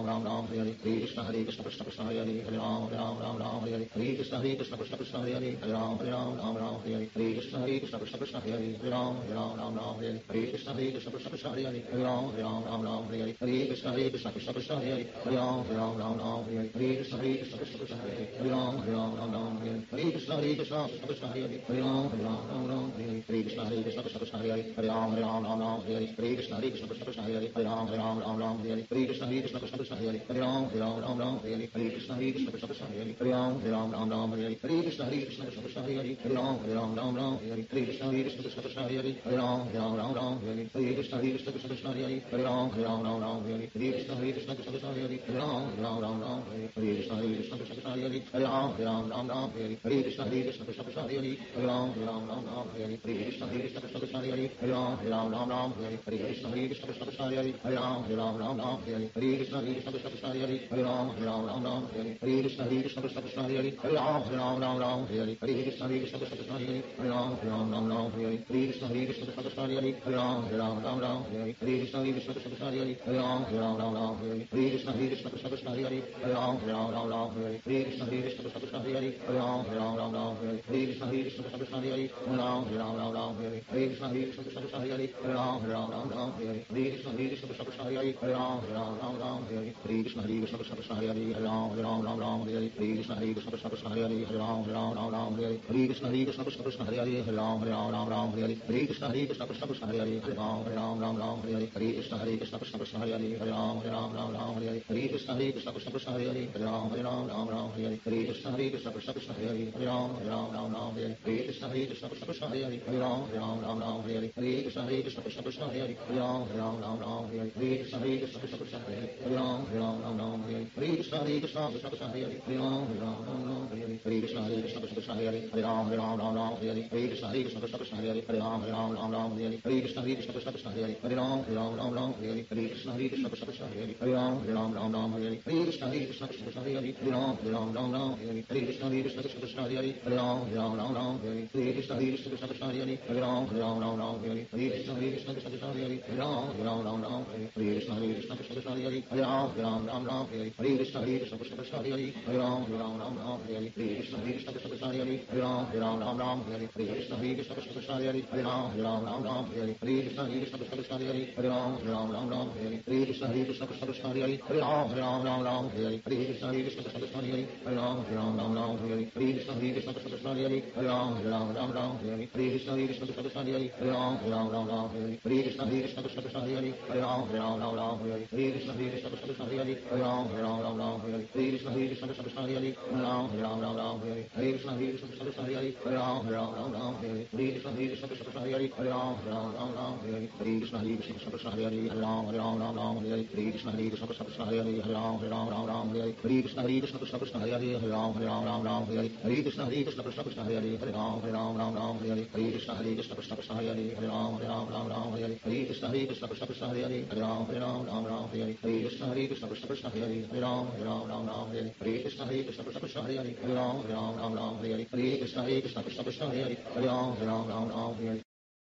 Ram Ram Hare Hare Krishna Hare Krishna Krishna Krishna Hare Hare Hare Ram Ram Ram Ram Hare Hare Hare Krishna Hare Krishna Krishna Krishna Hare Hare Hare Ram Ram Ram Ram Hare Hare Hare Krishna Hare Krishna Krishna Krishna Hare Hare Hare Ram Ram Ram Ram Hare Hare Hare Krishna Hare Krishna Krishna Krishna Hare Hare Hare Ram Ram Ram Ram Hare Hare Hare Krishna Hare Krishna Krishna Krishna Hare Hare Hare Ram Ram Ram Ram Hare Hare Hare Krishna Hare Krishna Krishna Krishna Hare Hare Hare Ram Ram Ram Ram Hare Hare Hare Krishna Hare Krishna Krishna Krishna Hare Hare Hare Ram Ram Ram Ram Hare Hare Hare Krishna Hare Krishna Krishna Krishna Hare Hare Hare Ram Ram Ram Ram Hare Hare Hare Krishna Hare Krishna Krishna Krishna Hare Hare Hare Ram Ram Ram Ram Hare Hare Hare Krishna Hare Krishna Krishna Krishna Hare Hare Hare Ram Ram Ram Ram Hare Hare Hare Krishna Hare Krishna Krishna Krishna Hare Hare Hare Ram Ram Ram Ram Hare Hare Hare Krishna Hare Krishna Krishna Krishna Hare Hare Hare Ram Ram Ram Ram Hare Hare Krishna Hare Krishna Krishna Krishna Hare Hare Hare Ram Ram Ram Ram Hare Hare Krishna Hare Krishna Krishna Krishna Hare Hare Hare Ram Ram Ram Ram Hare Hare Krishna Hare Krishna Krishna Krishna Hare Hare Hare Ram Ram Ram Ram Hare Hare Krishna Hare Krishna Krishna Krishna Hare Hare Hare Ram Ram Ram Ram Hare Hare Krishna Hare Krishna Krishna Krishna Hare Hare Ram Ram Ram Ram Hare Hare Krishna Hare Krishna Krishna Krishna Hare Hare Ram Ram Ram Ram Hare Hare Krishna Hare Krishna Krishna Krishna Hare Hare Ram Ram Ram Ram Hare Hare Krishna Hare Krishna Krishna Krishna Hare Hare Ram Ram Ram Ram Hare Hare Krishna Hare Krishna Krishna Krishna Hare Hare Ram Ram Ram Ram Hare Hare Krishna Hare Krishna Krishna Krishna Hare Hare Ram Ram Ram Ram Hare Hare Krishna Hare Krishna Krishna Krishna Hare Hare Ram Ram Ram Ram Hare Hare Krishna Hare Krishna Krishna Krishna Hare Hare Ram Ram Ram Ram Hare Hare Krishna Hare Krishna Krishna Krishna Hare Hare Ram Ram Ram Ram Hare Hare Krishna Hare Krishna Krishna Krishna Hare Hare Ram Ram Ram Ram Hare Hare Krishna Hare Krishna Krishna Krishna Hare Hare Ram Ram Ram Ram Hare Hare Krishna Hare Krishna Krishna Krishna Hare Hare Ram Ram Ram Ram Hare Hare Krishna Hare Krishna Krishna Krishna Hare Hare Ram Ram Ram Ram Hare Hare Krishna Hare Krishna Krishna Krishna Hare Hare Ram Ram Ram Ram Hare Hare Krishna Hare Krishna Krishna Krishna Hare Hare Ram Ram Ram Ram Hare Hare Krishna Hare Krishna Krishna Krishna Hare Hare Ram Ram Ram Ram Hare Hare Krishna Hare Krishna Krishna Krishna Hare Hare Ram Ram Ram Ram Hare Hare Krishna Hare Krishna Krishna Krishna Hare Hare Ram Ram Ram Ram Hare Hare Krishna Hare Krishna Krishna Krishna Hare Hare Ram Ram Ram Ram Hare Hare Krishna Hare Krishna Krishna Krishna Hare Hare Ram Ram Ram Ram Hare Hare Krishna Hare Krishna Krishna Krishna Hare Hare Ram Ram Ram Ram Hare Hare Krishna Hare Krishna Krishna Krishna Hare Hare Ram Ram Ram Ram Hare Hare Krishna Hare Krishna Krishna Krishna Hare Hare Ram Ram Ram Ram Hare Hare Krishna Hare Krishna Krishna Krishna Hare Hare Ram Ram Ram Ram Hare Hare Krishna Hare Krishna Krishna Krishna Hare Hare Ram Ram Ram Ram Hare Hare Krishna Hare Krishna Krishna Krishna Hare Hare Ram Ram Ram Ram Hare Hare Krishna Hare Krishna Krishna Krishna Hare Hare Ram Ram Ram Ram Hare Hare Krishna Hare Krishna Krishna Krishna Hare Hare Ram Ram Ram Ram Hare Hare Krishna Hare Krishna Krishna Krishna Hare Hare Ram Ram Ram Ram Hare Hare Krishna Hare Krishna Krishna Krishna Hare Hare Ram Ram Ram Ram Hare Hare Krishna Hare Krishna Krishna Krishna Hare Hare Ram Ram Ram Ram Hare Hare Krishna Hare Krishna Krishna Krishna Hare Hare Ram Ram Ram Ram Hare Hare Krishna Hare Krishna Krishna Krishna Hare Hare Ram Ram Ram Ram Hare Hare Krishna Hare Krishna Krishna Krishna Hare Hare Ram Ram Ram Ram Hare Hare Krishna Hare Krishna Krishna Krishna Hare Hare Ram Ram Ram Ram Hare Hare Krishna Hare Krishna Krishna Krishna Hare Hare Ram Ram Ram Ram Hare Hare Krishna Hare Krishna Krishna Krishna Hare Hare Ram Ram Ram Ram Hare Hare Krishna Hare Krishna Krishna Krishna Hare Hare Ram Ram Ram Ram Hare Hare Krishna Hare Krishna Krishna Krishna Hare Hare Ram Ram Ram Ram Hare Hare Krishna Hare Krishna Krishna Krishna Hare Hare Ram Ram Ram Ram Hare Hare Krishna Hare Krishna Krishna Krishna Hare Hare Ram Ram Ram Ram Hare Hare Krishna Hare Krishna Krishna Krishna Hare Hare Ram Ram Ram Ram Hare Hare Krishna Hare Krishna Krishna Krishna Hare Hare Ram Ram Ram Ram Hare Hare Krishna Hare Krishna Krishna Krishna Hare Hare Ram Ram Ram Ram Hare Hare Krishna Hare Krishna Krishna Krishna Hare Hare Ram Ram Ram Ram Hare Hare Krishna Hare Krishna Krishna Krishna Hare Hare Ram Ram Ram Ram Hare Hare Krishna Hare Krishna Krishna Krishna Hare Hare Ram Ram Ram Ram Hare Hare Krishna Hare Krishna Krishna Krishna Hare Hare Ram Ram Ram Ram Hare Hare Krishna Hare Krishna Krishna Krishna Hare Hare Ram Ram Ram Ram Hare Hare Krishna Hare Krishna Krishna Krishna Hare Hare Ram Ram Ram Ram Hare Hare Krishna Hare Krishna Krishna Krishna Hare Hare Ram Ram Ram Ram Hare Hare Krishna Hare Krishna Krishna Krishna Hare Hare Ram Ram Ram Ram Hare Hare Krishna Hare Krishna Krishna Krishna Hare Hare Ram Ram Ram Ram Hare Hare Krishna Hare Krishna Krishna Krishna Hare Hare Ram Ram Ram Ram Hare Hare Krishna Hare Krishna Krishna Krishna Hare Hare Ram Ram Ram Ram Hare Hare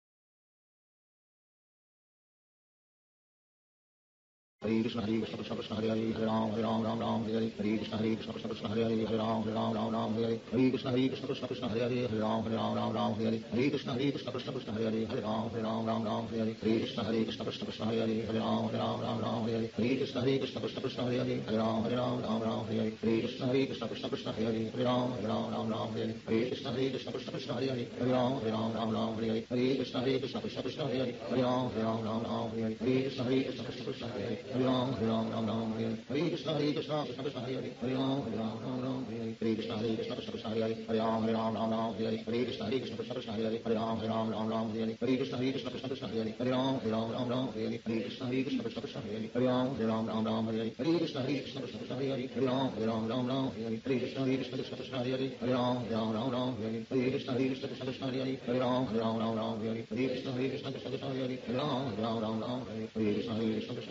Hare Krishna Hare Krishna Krishna Krishna Hare Hare Hare Ram Hare Ram Ram Ram Hare Hare Hare Krishna Hare Krishna Krishna Krishna Hare Hare Hare Ram Hare Ram Ram Ram Hare Hare Hare Krishna Hare Krishna Krishna Krishna Hare Hare Hare Ram Hare Ram Ram Ram Hare Hare Hare Krishna Hare Krishna Krishna Krishna Hare Hare Hare Ram Hare Ram Ram Ram Hare Hare Krishna Hare Krishna Krishna Krishna Hare Hare Hare Ram Hare Ram Ram Ram Hare Hare Krishna Hare Krishna Krishna Krishna Hare Hare Hare Ram Hare Ram Ram Ram Hare Hare Krishna Hare Krishna Krishna Krishna Hare Hare Hare Ram Hare Ram Ram Ram Hare Hare Krishna Hare Krishna Krishna Krishna Hare Hare Hare Ram Hare Ram Ram Ram Hare Hare Krishna Hare Krishna Krishna Krishna Hare Hare Hare Ram Hare Ram Ram Ram Hare Hare Krishna Hare Krishna Krishna Krishna Hare Hare Hare Ram Hare Ram Ram Ram Hare Hare Krishna Hare Krishna Krishna Krishna Hare Hare Hare Ram Hare Ram Ram Ram Hare Hare Krishna Hare Krishna Krishna Krishna Hare Hare Hare Ram Hare Ram Ram Ram Hare Hare Krishna Hare Krishna Krishna Krishna Hare Hare Hare Ram Hare Ram Ram Ram Hare Hare Krishna Hare Krishna Krishna Krishna Hare Hare Hare Ram Hare Ram Ram Ram Hare Hare Krishna Hare Krishna Krishna Krishna Hare Hare Hare Ram Hare Ram Ram Ram Hare Hare Krishna Hare Krishna Krishna Krishna Hare Hare Hare Ram Hare Ram Ram Ram Hare Hare Krishna Hare Krishna Krishna Krishna Hare Hare Hare Ram Hare Ram Ram Ram Hare Hare Krishna Hare Krishna Krishna Krishna Hare Hare Hare Ram Hare Ram Ram Ram Hare Hare Krishna Hare Krishna Krishna Krishna Hare Hare Ram Hare Ram Ram Ram Hare Hare Krishna Hare Krishna Krishna Krishna Hare Hare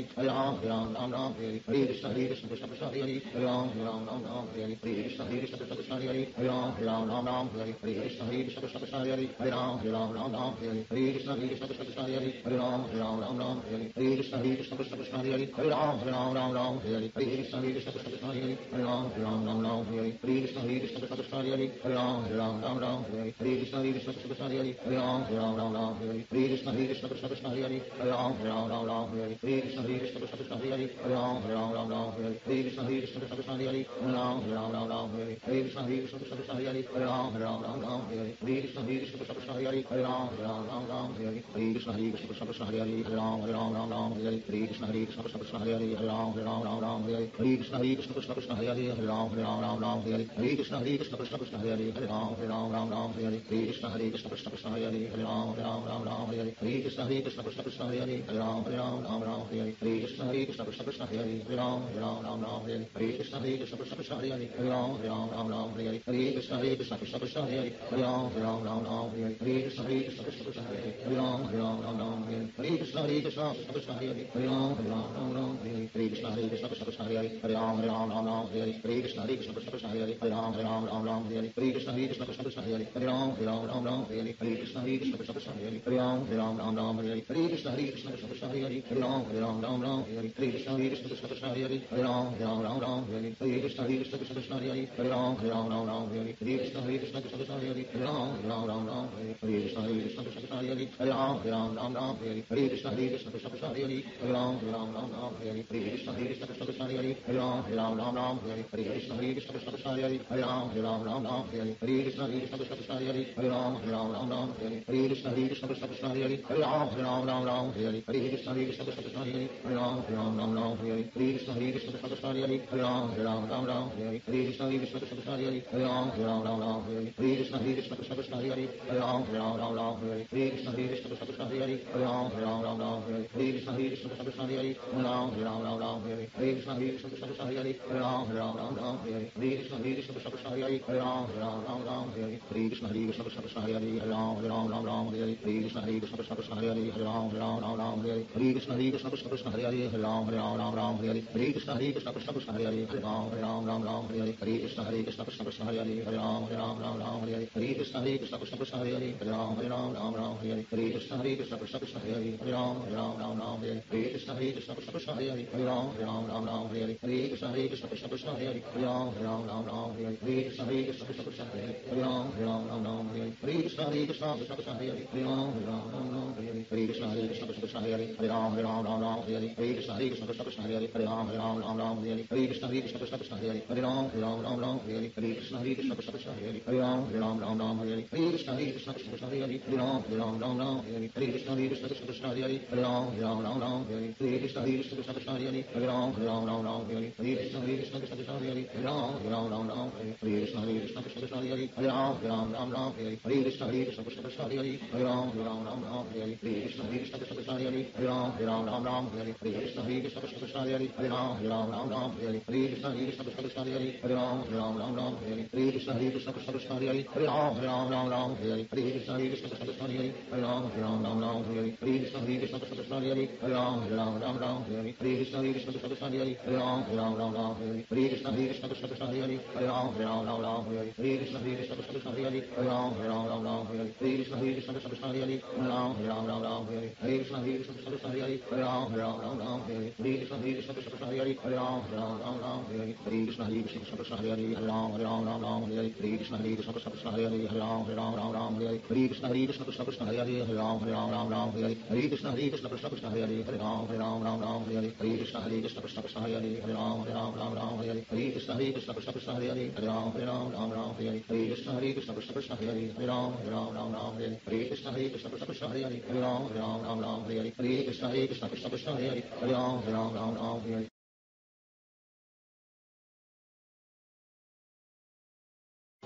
Hare Ram, Hare Ram, Ram Ram, Hare Hare Krishna, Hare Krishna, Krishna Krishna, Hare Hare, Hare Ram, Hare Ram, Ram Ram, Hare Hare Krishna, Hare Krishna, Krishna Krishna, Hare Hare, Hare Ram, Hare Ram, Ram Ram, Hare Hare Krishna, Hare Krishna, Krishna Krishna, Hare Hare, Hare Ram, Hare Ram, Ram Ram, Hare Hare Krishna, Hare Krishna, Krishna Krishna, Hare Hare, Hare Ram, Hare Ram, Ram Ram, Hare Hare Krishna, Hare Krishna, Krishna Krishna, Hare Hare, Hare Ram, Hare Ram, Ram Ram, Hare Hare Krishna, Hare Krishna, Krishna Krishna, Hare Hare, Hare Ram, Hare Ram, Ram Ram, Hare Hare Krishna, Hare Krishna, Krishna Krishna, Hare Hare, Hare Ram, Hare Ram, Ram Ram, Hare Hare Krishna, Hare Krishna, Krishna Krishna, Hare Hare, Hare Ram, Hare Ram, Ram Ram, Hare Hare Krishna, Hare Krishna, Krishna Krishna, Hare Hare, Hare Ram, Hare Ram, Ram Ram, Hare Hare Krishna, Hare Krishna, Krishna Krishna, Hare Hare, Hare Ram, Hare Ram, Ram Ram, Hare Hare Krishna, Hare Krishna, Krishna Krishna, Hare Hare, Hare Ram, Hare Ram, Ram Ram, Hare Hare Krishna, Hare Krishna, Krishna Krishna, Hare Hare, Hare Ram, Hare Ram, Ram Ram, Hare Hare Krishna, Hare Krishna, Krishna Krishna, Hare Hare, Hare Ram, Hare Ram, Ram Ram, Hare Hare Krishna, Hare Krishna, Krishna Krishna, Hare Hare, Hare Ram, Hare Ram, Ram Ram, Hare Hare Krishna, Hare Krishna, Krishna Krishna, Hare Hare, Hare Ram, Hare Ram, Ram Ram, Hare Hare Krishna, Hare Krishna, Krishna Krishna, Hare Hare, Hare Ram, Hare Ram, Ram Ram, Hare Hare Krishna, Hare Krishna, Krishna Krishna, Hare Hare, Hare Ram, Hare Ram, Ram Ram, Hare Hare Krishna, Hare Krishna, Krishna Krishna, Hare Hare, Hare Ram, Hare Ram, Ram Ram, Hare Hare Krishna, Hare Krishna, Krishna Krishna, Hare Hare, Hare Ram, Hare Ram, Ram Ram, Hare Hare Krishna, Hare Krishna, Krishna Krishna, Hare Hare, Hare Ram, Hare Ram, Ram Ram, Hare Hare Krishna, Hare Krishna, Krishna Krishna, Hare Hare, Hare Ram, Hare Ram, Ram Ram, Hare Hare Krishna, Hare Krishna, Krishna Krishna, Hare Hare, Hare Ram, Hare Ram, Ram Ram, Hare Hare Krishna, Hare Krishna, Krishna Krishna, Hare Hare, Hare Ram, Hare Ram, Ram Ram, Hare Hare Krishna, Hare Krishna, Krishna Krishna, Hare Hare, Hare Ram, Hare Ram, Ram Ram, Hare Hare Krishna, Hare Krishna, Krishna Krishna, Hare Hare, Hare Ram, Hare Ram, Ram Ram, Hare Hare Krishna, Hare Krishna, Krishna Krishna, Hare Hare, Hare Ram, Hare Ram, Ram Ram, Hare Hare Krishna, Hare Krishna, Krishna Krishna, Hare Hare, Hare Ram, Hare Ram, Ram Ram, Hare Hare Krishna, Hare Krishna, Krishna Krishna, Hare Hare, Hare Ram, Hare Ram, Ram Ram, Hare Hare Krishna, Hare Krishna, Krishna Krishna, Hare Hare, Hare Ram, Hare Ram, Ram Ram, Hare Hare Krishna, Hare Krishna, Krishna Krishna, Hare Hare, Hare Ram, Hare Ram, Ram Ram, Hare Hare Krishna, Hare Krishna, Krishna Krishna, Hare Hare, Hare Ram, Hare Ram, Ram Ram, Hare Hare Krishna, Hare Krishna, Krishna Krishna, Hare Hare, Hare Ram, Hare Ram, Ram Ram, Hare Hare Krishna, Hare Krishna, Krishna Krishna, Hare Hare, Hare Ram, Hare Ram, Ram Ram, Hare Hare Krishna, Hare Krishna, Krishna Krishna, Hare Hare, Hare Ram, Hare Ram, Ram Ram, Hare Hare Krishna, Hare Krishna, Krishna Krishna, Hare Hare, Hare Ram, Hare Ram, Ram Ram, Hare Hare Krishna, Hare Krishna, Krishna Krishna, Hare Hare, Hare Ram, Hare Ram, Ram Ram, Hare Hare Krishna, Hare Krishna, Krishna Krishna, Hare Hare, Hare Ram, Hare Ram, Ram Ram, Hare Hare Krishna, Hare Krishna, Krishna Krishna, Hare Hare, Hare Ram, Hare Ram, Ram Ram, Hare Hare Krishna, Hare Krishna, Krishna Krishna, Hare Hare, Hare Ram, Hare Ram, Ram Ram, Hare Hare Krishna, Hare Krishna, Krishna Krishna, Hare Hare, Hare Ram, Hare Ram, Ram Ram, Hare Hare Krishna, Hare Krishna, Krishna Krishna, Hare Hare, Hare Ram, Hare Ram, Ram Ram, Hare Hare Krishna, Hare Krishna, Krishna Krishna, Hare Hare, Hare Ram, Hare Ram, Ram Ram, Hare Hare Krishna, Hare Krishna, Krishna Krishna, Hare Hare, Hare Ram, Hare Ram, Ram Ram, Hare Hare Krishna, Hare Krishna, Krishna Krishna, Hare Hare, Hare Ram, Hare Ram, Ram Ram, Hare Hare Krishna, Hare Krishna, Krishna Krishna, Hare Hare, Hare Ram, Hare Ram, Ram Ram, Hare Hare Krishna, Hare Krishna, Krishna Krishna, Hare Hare, Hare Ram, Hare Ram, Ram Ram, Hare Hare Krishna, Hare Krishna, Krishna Krishna, Hare Hare, Hare Ram, Hare Ram, Ram Ram, Hare Hare Krishna, Hare Krishna, Krishna Krishna, Hare Hare, Hare Ram, Hare Ram, Ram Ram, Hare Hare Krishna, Hare Krishna, Krishna Krishna, Hare Hare, Hare Ram, Hare Ram, Ram Ram, Hare Hare Krishna, Hare Krishna, Krishna Krishna, Hare Hare, Hare Ram, Hare Ram, Ram Ram, Hare Hare Krishna, Hare Krishna, Krishna Krishna, Hare Hare, Hare Ram, Hare Ram, Ram Ram, Hare Hare Krishna, Hare Krishna, Krishna Krishna, Hare Hare, Hare Ram, Hare Ram, Ram Ram, Hare Hare Krishna, Hare Krishna, Krishna Krishna, Hare Hare, Hare Ram, Hare Ram, Ram Ram, Hare Hare Krishna, Hare Krishna, Krishna Krishna, Hare Hare, Hare Ram, Hare Ram, Ram Ram, Hare Hare Krishna, Hare Krishna, Krishna Krishna, Hare Hare, Hare Ram, Hare Ram, Ram Ram, Hare Hare Krishna, Hare Krishna, Krishna Krishna, Hare Hare, Hare Ram, Hare Ram, Ram Ram, Hare Hare Krishna, Hare Krishna, Krishna Krishna, Hare Hare, Hare Ram, Hare Ram, Ram Ram, Hare Hare Krishna, Hare Krishna, Krishna Krishna, Hare Hare, Hare Ram, Hare Ram, Ram Ram, Hare Hare Krishna, Hare Krishna, Krishna Krishna, Hare Hare, Hare Ram, Hare Ram, Ram Ram, Hare Hare Krishna, Hare Krishna, Krishna Krishna, Hare Hare, Hare Ram, Hare Ram, Ram Ram, Hare Hare Krishna, Hare Krishna, Krishna Krishna, Hare Hare, Hare Ram, Hare Ram, Ram Ram, Hare Hare Krishna, Hare Krishna, Krishna Krishna, Hare Hare, Hare Ram, Hare Ram, Ram Ram, Hare Hare Krishna, Hare Krishna, Krishna Krishna, Hare Hare, Hare Ram, Hare Ram, Ram Ram, Hare Hare Krishna, Hare Krishna, Krishna Krishna, Hare Hare, Hare Ram, Hare Ram, Ram Ram, Hare Hare Krishna, Hare Krishna, Krishna Krishna, Hare Hare, Hare Ram, Hare Ram, Ram Ram, Hare Hare Krishna, Hare Krishna, Krishna Krishna, Hare Hare, Hare Ram, Hare Ram, Ram Ram, Hare Hare Krishna, Hare Krishna, Krishna Krishna, Hare Hare, Hare Ram, Hare Ram, Ram Ram, Hare Hare Krishna, Hare Krishna, Krishna Krishna, Hare Hare, Hare Ram, Hare Ram, Ram Ram, Hare Hare Krishna, Hare Krishna, Krishna Krishna, Hare Hare, Hare Ram, Hare Ram, Ram Ram, Hare Hare Krishna, Hare Krishna, Krishna Krishna, Hare Hare, Hare Ram, Hare Ram, Ram Ram, Hare Hare Krishna, Hare Krishna, Krishna Krishna, Hare Hare, Hare Ram, Hare Ram, Ram Ram, Hare Hare Krishna, Hare Krishna, Krishna Krishna, Hare Hare, Hare Ram, Hare Ram, Ram Ram, Hare Hare Krishna, Hare Krishna, Krishna Krishna, Hare Hare, Hare Ram, Hare Ram, Ram Ram, Hare Hare Krishna, Hare Krishna, Krishna Krishna, Hare Hare, Hare Ram, Hare Ram, Ram Ram, Hare Hare Krishna, Hare Krishna, Krishna Krishna, Hare Hare, Hare Ram, Hare Ram, Ram Ram, Hare Hare Krishna, Hare Krishna, Krishna Krishna, Hare Hare, Hare Ram, Hare Ram, Ram Ram, Hare Hare Krishna, Hare Krishna, Krishna Krishna, Hare Hare, Hare Ram, Hare Ram, Ram Ram, Hare Hare Krishna, Hare Krishna, Krishna Krishna, Hare Hare, Hare Ram, Hare Ram, Ram Ram, Hare Hare Krishna, Hare Krishna, Krishna Krishna, Hare Hare, Hare Ram, Hare Ram, Ram Ram, Hare Hare Krishna, Hare Krishna, Krishna Krishna, Hare Hare, Hare Ram, Hare Ram, Ram Ram, Hare Hare Krishna, Hare Krishna, Krishna Krishna, Hare Hare, Hare Ram, Hare Ram, Ram Ram, Hare Hare Krishna, Hare Krishna, Krishna Krishna, Hare Hare, Hare Ram, Hare Ram, Ram Ram, Hare Hare Krishna, Hare Krishna, Krishna Krishna, Hare Hare, Hare Ram, Hare Ram, Ram Ram, Hare Hare Krishna, Hare Krishna, Krishna Krishna, Hare Hare, Hare Ram, Hare Ram, Ram Ram, Hare Hare Krishna, Hare Krishna, Krishna Krishna, Hare Hare, Hare Ram, Hare Ram, Ram Ram, Hare Hare Krishna, Hare Krishna, Krishna Krishna, Hare Hare, Hare Ram, Hare Ram, Ram Ram, Hare Hare Krishna, Hare Krishna, Krishna Krishna, Hare Hare, Hare Ram, Hare Ram, Ram Ram, Hare Hare Krishna, Hare Krishna, Krishna Krishna, Hare Hare, Hare Ram, Hare Ram, Ram Ram, Hare Hare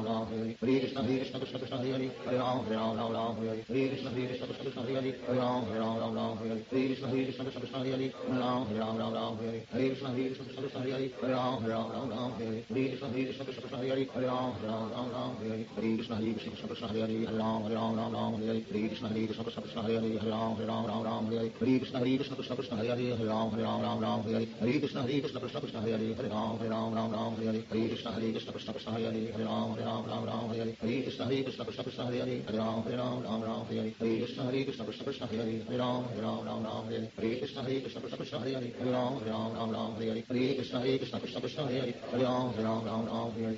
Ram Ram Hare Hare Krishna Hare Krishna Krishna Krishna Hare Hare Hare Ram Hare Ram Ram Ram Hare Hare Krishna Hare Krishna Krishna Krishna Hare Hare Hare Ram Hare Ram Ram Ram Hare Hare Krishna Hare Krishna Krishna Krishna Hare Hare Ram Hare Ram Ram Ram Ram Hare Hare Krishna Hare Krishna Krishna Krishna Hare Hare Hare Ram Hare Ram Ram Ram Hare Hare Krishna Hare Krishna Krishna Krishna Hare Hare Hare Ram Hare Ram Ram Ram Hare Hare Krishna Hare Krishna Krishna Krishna Hare Hare Hare Ram Hare Ram Ram Ram Hare Hare Krishna Hare Krishna Krishna Krishna Hare Hare Hare Ram Hare Ram Ram Ram Hare Hare Krishna Hare Krishna Krishna Krishna Hare Hare Hare Ram Hare Ram Ram Ram Hare Hare Krishna Hare Krishna Krishna Krishna Hare Hare Hare Ram Hare Ram Ram Ram Hare Hare Krishna Hare Krishna Krishna Krishna Hare Hare Hare Ram Hare Ram Ram Ram Hare Hare Krishna Hare Krishna Krishna Krishna Hare Hare Hare Ram Hare Ram Ram Ram Hare Hare Krishna Hare Krishna Krishna Krishna Hare Hare Hare Ram Hare Ram Ram Ram Hare Hare Krishna Hare Krishna Krishna Krishna Hare Hare Hare Ram Hare Ram Ram Ram Hare Hare Krishna Hare Krishna Krishna Krishna Hare Hare Hare Ram Hare Ram Ram Ram Hare Hare.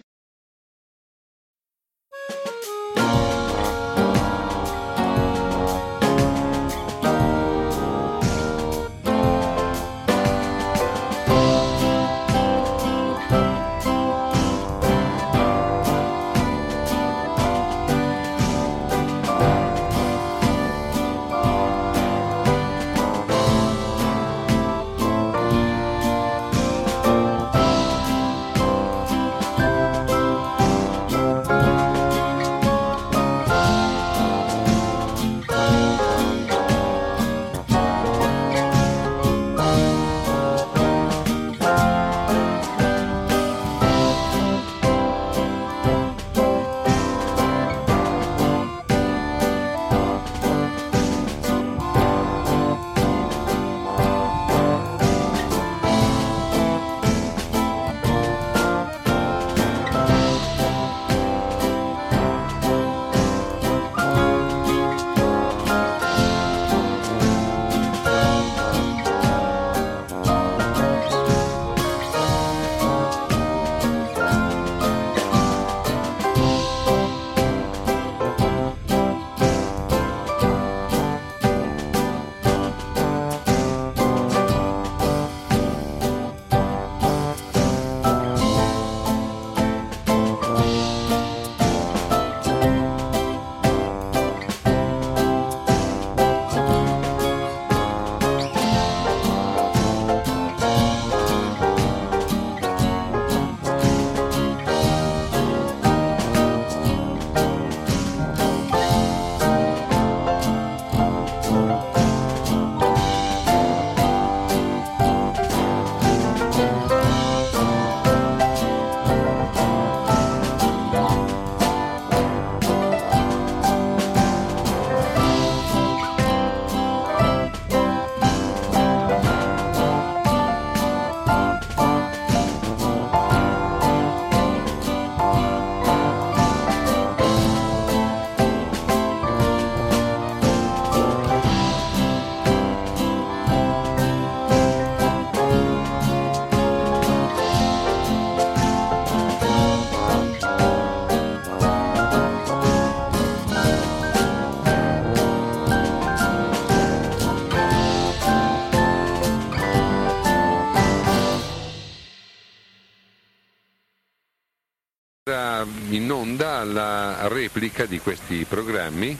In onda la replica di questi programmi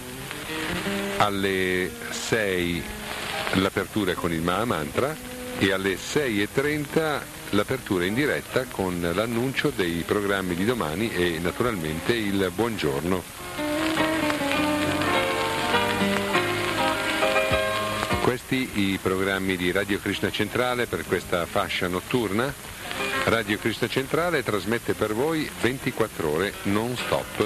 alle sei l'apertura con il Mahamantra e alle sei e trenta l'apertura in diretta con l'annuncio dei programmi di domani e naturalmente il buongiorno. Questi i programmi di Radio Krishna Centrale per questa fascia notturna. Radio Krishna Centrale trasmette per voi ventiquattro ore non stop.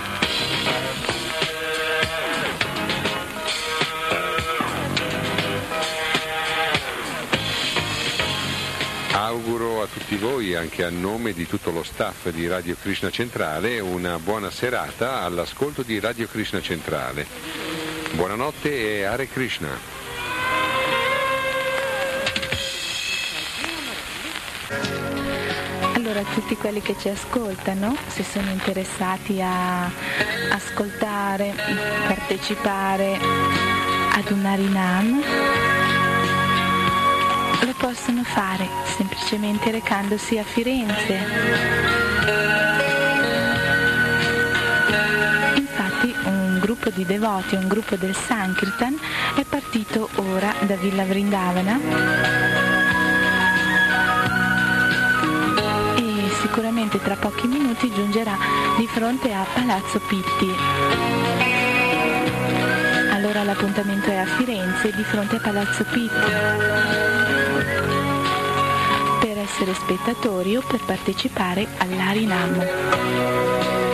Auguro a tutti voi, anche a nome di tutto lo staff di Radio Krishna Centrale, una buona serata all'ascolto di Radio Krishna Centrale. Buonanotte e Hare Krishna. Allora, tutti quelli che ci ascoltano, se sono interessati a ascoltare, partecipare ad un Harinam, lo possono fare semplicemente recandosi a Firenze. Infatti un gruppo di devoti, un gruppo del Sankirtan è partito ora da Villa Vrindavana e sicuramente tra pochi minuti giungerà di fronte a Palazzo Pitti. Allora l'appuntamento è a Firenze, di fronte a Palazzo Pitti. essere spettatori o per partecipare all'Arinam.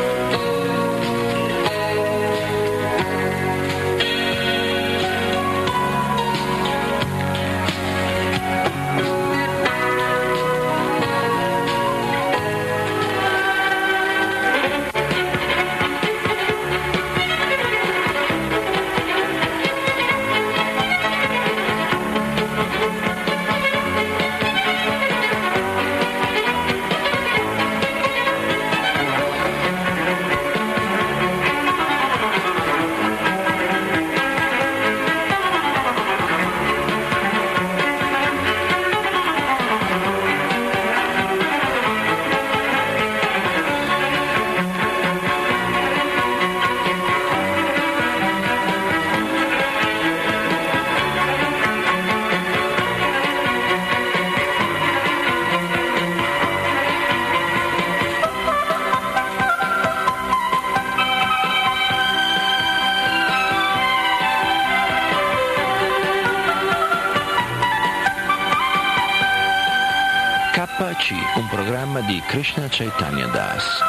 K C, un programma di Krishna Chaitanya Das.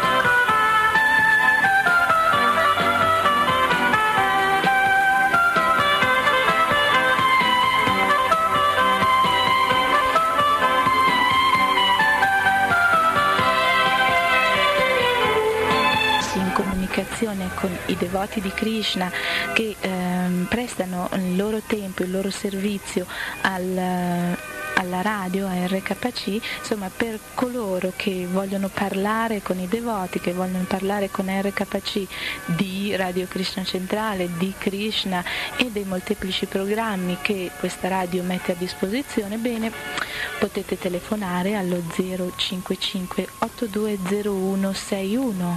In comunicazione con i devoti di Krishna che ehm, prestano il loro tempo, il loro servizio al alla radio, a R K C, insomma per coloro che vogliono parlare con i devoti, che vogliono parlare con R K C di Radio Krishna Centrale, di Krishna e dei molteplici programmi che questa radio mette a disposizione, bene, potete telefonare allo zero cinque cinque otto due zero uno sei uno.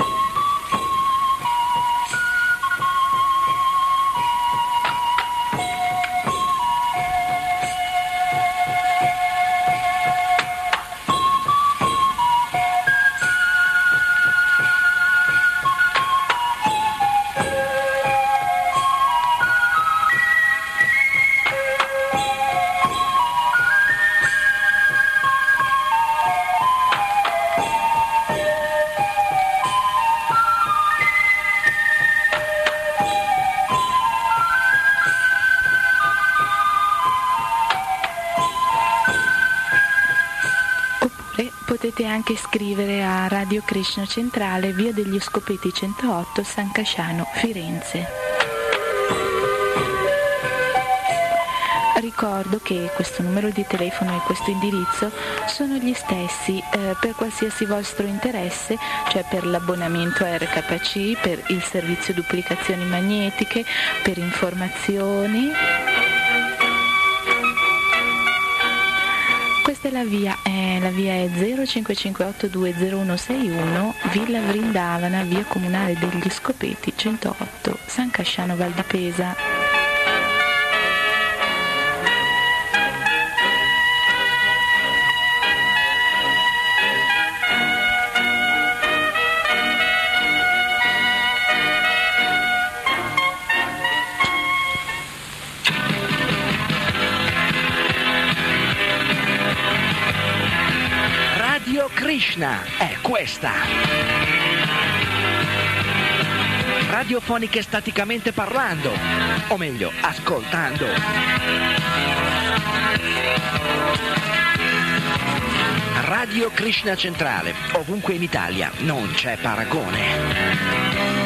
Potete anche scrivere a Radio Krishna Centrale, via degli Scopeti centootto, San Casciano, Firenze. Ricordo che questo numero di telefono e questo indirizzo sono gli stessi eh, per qualsiasi vostro interesse, cioè per l'abbonamento a R K C, per il servizio duplicazioni magnetiche, per informazioni. Questa è la via, eh, la via è zero cinque cinque otto due zero uno sei uno, Villa Vrindavana, via Comunale degli Scopeti centootto, San Casciano Val di Pesa. Krishna è questa. Radiofoniche staticamente parlando, o meglio, ascoltando. Radio Krishna Centrale, ovunque in Italia, non c'è paragone.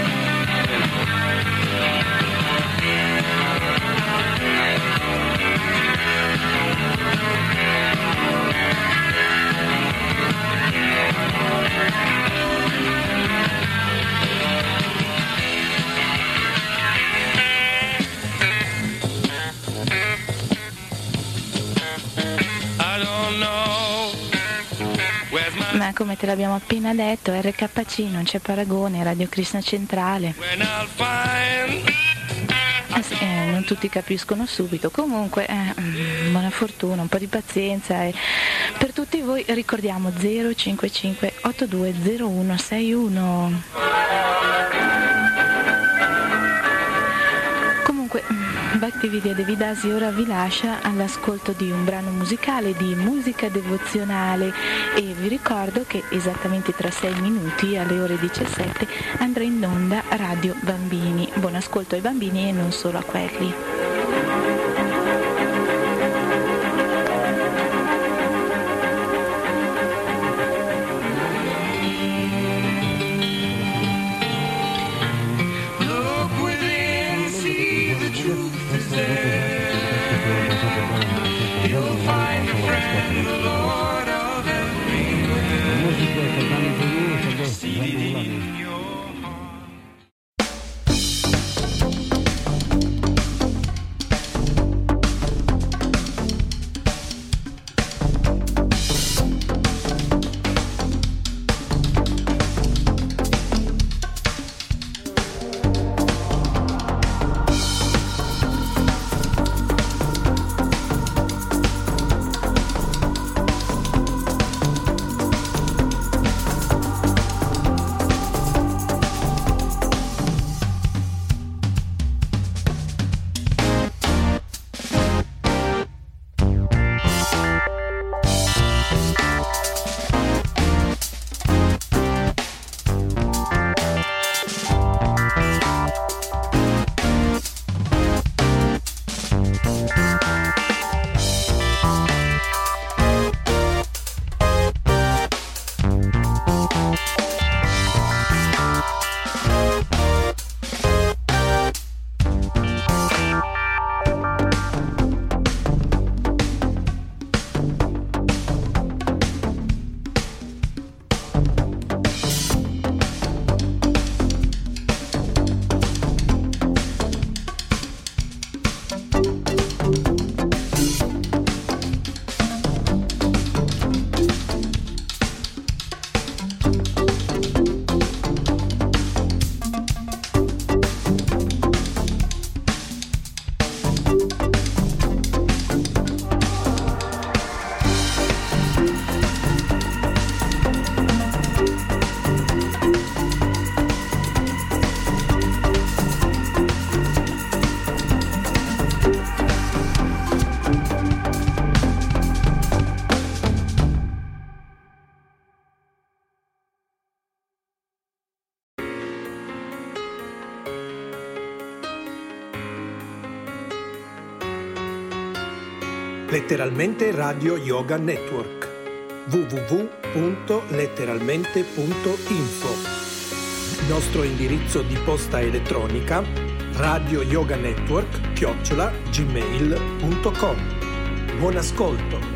Ma come te l'abbiamo appena detto, R K C non c'è paragone, Radio Krishna Centrale. Eh sì, eh, non tutti capiscono subito, comunque eh, buona fortuna, un po' di pazienza e per tutti voi ricordiamo zero cinque cinque otto due zero uno sei uno. Comunque Bhaktividya Devidasi ora vi lascia all'ascolto di un brano musicale di musica devozionale e vi ricordo che esattamente tra sei minuti alle ore diciassette andrà in onda Radio Bambini. Buon ascolto ai bambini e non solo a quelli. Letteralmente Radio Yoga Network w w w punto letteralmente punto info. Nostro indirizzo di posta elettronica radio yoga network chiocciola gmail punto com. Buon ascolto.